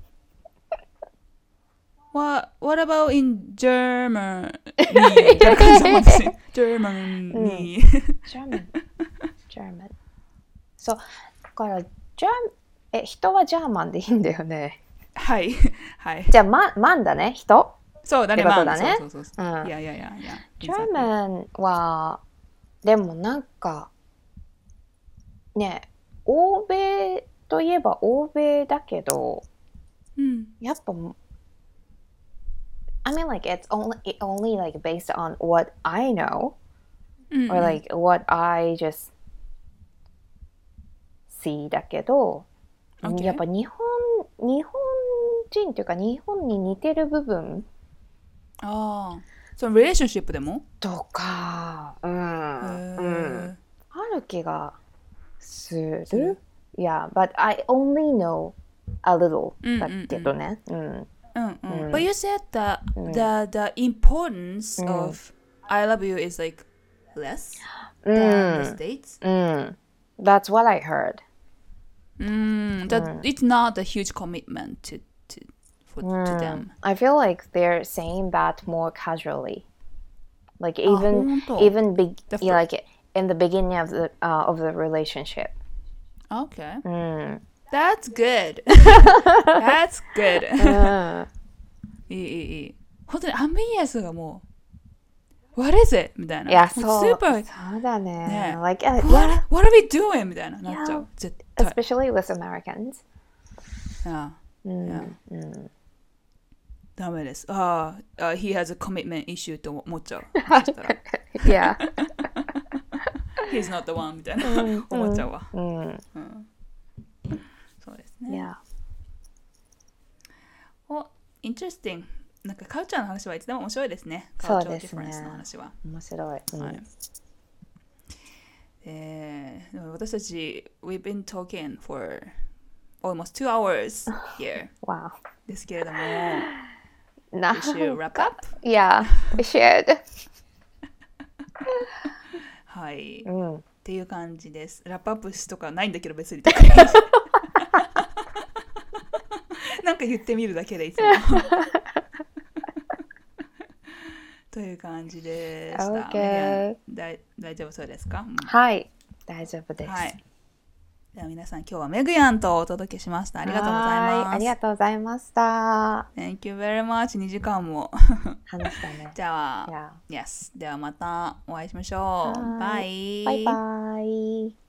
？What about in Germany? みたいな感じだもんですね。Germany。 German。そう。だから人はジャーマンでいいんだよね。 はい。はい。 じゃあ、マンだね、人。 そうだね、 ってことだね。 そう。いや。 ジャーマンは、でもなんか、ね、欧米といえば欧米だけど、やっぱ、I mean, like, it's only like based on what I know, or like what I just see だけど、やっぱ日本人っていうか日本に似てる部分そのリレーションシップでもとか、ある気がする。Yeah, but I only know a little だけどね。 But you said that the importance of I love you is like less than the States? That's what I heard. That it's not a huge commitment to them. I feel like they're saying that more casually. Like even like in the beginning of the relationship. Okay. That's good. That's good. いい。本当にアンビギアスがもう What is it? みたいな。 いや、そうだね。Like, what are we doing? みたいななっちゃう。絶対。 Especially with Americans. ダメです。he has a commitment issue と思っちゃう。 Yeah. He's not the one みたいな思っちゃうわ。そうですね。Interesting。なんかカルチャーの話はいつでも面白いですね。 そうですね。 の話は面白い。 私たち We've been talking for almost 2 hours here. Wow. ですけれどもWe should wrap up? Yeah, we should. はい、っていう感じです。ラップアップとかないんだけど別になんか言ってみるだけでいつもという感じでした。 Okay. 大丈夫そうですか？ はい、大丈夫です。 では皆さん今日はメグヤンとお届けしました。ありがとうございます。 ありがとうございました。 Thank you very much. 2時間も話したね。 じゃあ、Yes. ではまたお会いしましょう。バイ。 バイバイ。